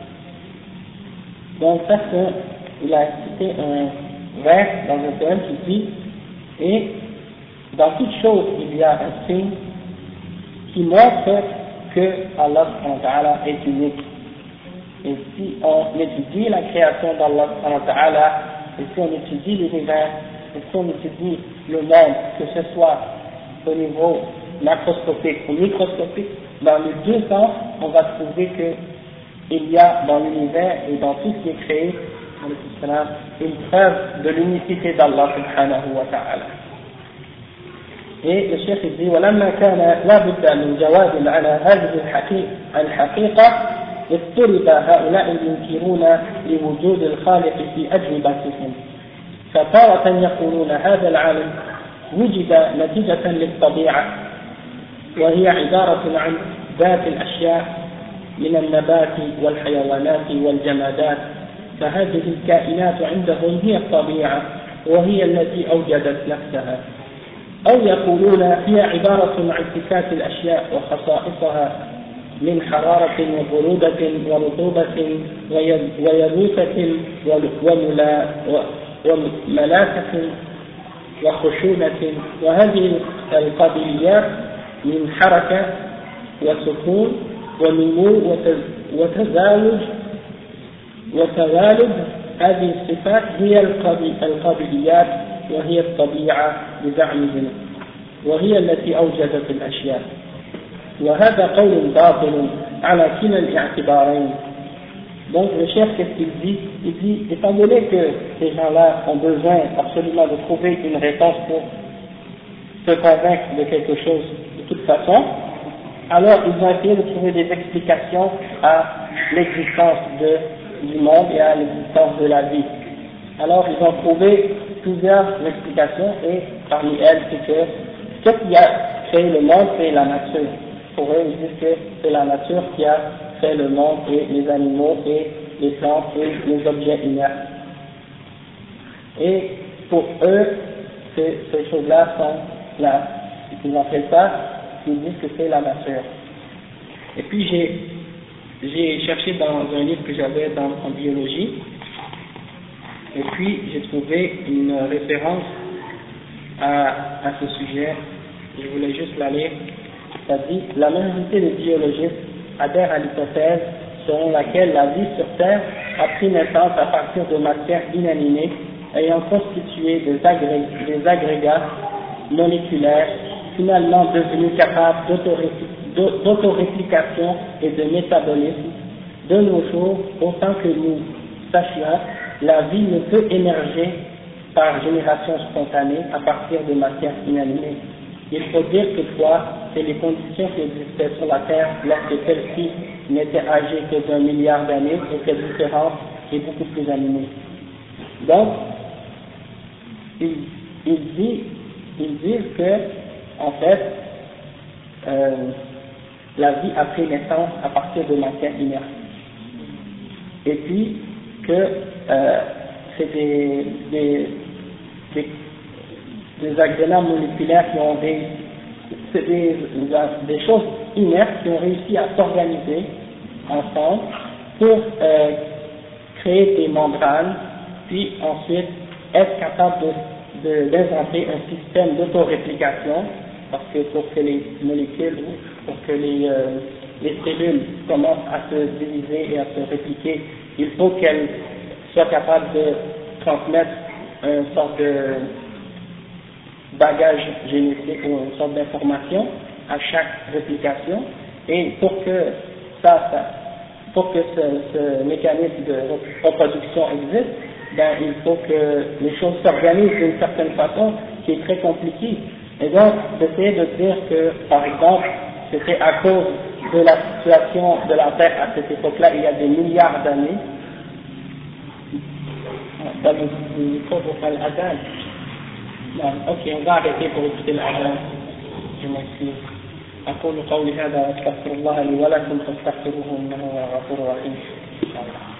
Donc ça c'est, il a cité un vers dans un poème qui dit, et dans toute chose il y a un signe qui montre que Allah subhanahu wa ta'ala est unique. Et si on étudie la création d'Allah subhanahu wa ta'ala, et si on étudie l'univers, et si on étudie le monde, que ce soit au niveau macroscopique ou microscopique, dans les deux sens, on va trouver qu'il y a dans l'univers et dans tout ce qui est créé, une preuve de l'unicité d'Allah subhanahu wa ta'ala. Et le cheikh dit ولما كان لا بد من جواب على هذه الحقيقة اضطرب هؤلاء المنكرون لوجود الخالق في أجوبتهم، فتارة يقولون هذا العالم وجد نتيجة للطبيعة وهي عبارة عن ذات الأشياء من النبات والحيوانات والجمادات، فهذه الكائنات عندهم هي الطبيعة وهي التي أوجدت نفسها. أو يقولون هي عبارة عن صفات الأشياء وخصائصها من حرارة وبرودة ورطوبة ويبوسة وملاسة وخشونة، وهذه القابليات من حركة وسكون ونمو وتزاوج وتوالد، هذه الصفات هي القابليات وهي الطبيعة بزعمهم، وهي التي أوجدت الأشياء. وهذا قول باطل على كلا الاعتبارين. Donc le chef, qu'est-ce qu'il dit? Il dit, étant donné que ces gens-là ont besoin absolument de trouver une réponse pour se convaincre de quelque chose de toute façon, alors ils ont essayé de trouver des explications à l'existence de, du monde et à l'existence de la vie. Alors ils ont trouvé plusieurs explications, et parmi elles c'est que ce qui a créé le monde, c'est la nature. Pour eux, ils disent que c'est la nature qui a fait le monde et les animaux et les plantes et les objets inertes. Et pour eux, ces, ces choses-là sont là. Ils appellent ça, ils disent que c'est la nature. Et puis j'ai, j'ai cherché dans un livre que j'avais dans, en biologie, et puis j'ai trouvé une référence à, à ce sujet. Je voulais juste la lire. Ça dit, la majorité des biologistes adhèrent à l'hypothèse selon laquelle la vie sur Terre a pris naissance à partir de matières inanimées ayant constitué des, agrég des agrégats moléculaires finalement devenu capable d'autoréplication et de métabolisme, de nos jours, autant que nous sachions, la vie ne peut émerger par génération spontanée à partir de matière inanimée. Il faut dire toutefois que les conditions qui existaient sur la Terre lorsque celle-ci n'était âgée que d'un milliard d'années étaient différentes et beaucoup plus animées. Donc, il, il dit, ils disent que, en fait, euh, la vie a pris naissance à partir de matière inerte. Et puis, que euh, c'est des, des, des, des accidents moléculaires qui ont des, c'est des, des choses inertes qui ont réussi à s'organiser ensemble pour euh, créer des membranes, puis ensuite être capable de, de, d'inventer un système d'autoréplication, parce que pour que les molécules, pour que les, euh, les cellules commencent à se diviser et à se répliquer, il faut qu'elles soient capables de transmettre une sorte de bagage génétique ou une sorte d'information à chaque réplication, et pour que ça, ça pour que ce, ce mécanisme de reproduction existe, ben, il faut que les choses s'organisent d'une certaine façon qui est très compliquée. Et donc, d'essayer de dire que, par exemple, c'était à cause de la situation de la Terre à cette époque-là, il y a des milliards d'années. Ok, on va arrêter pour écouter l'adhan. Je m'excuse. أقول قولي هذا وأستغفر الله لي ولكم فاستغفروه إنه هو الغفور الرحيم.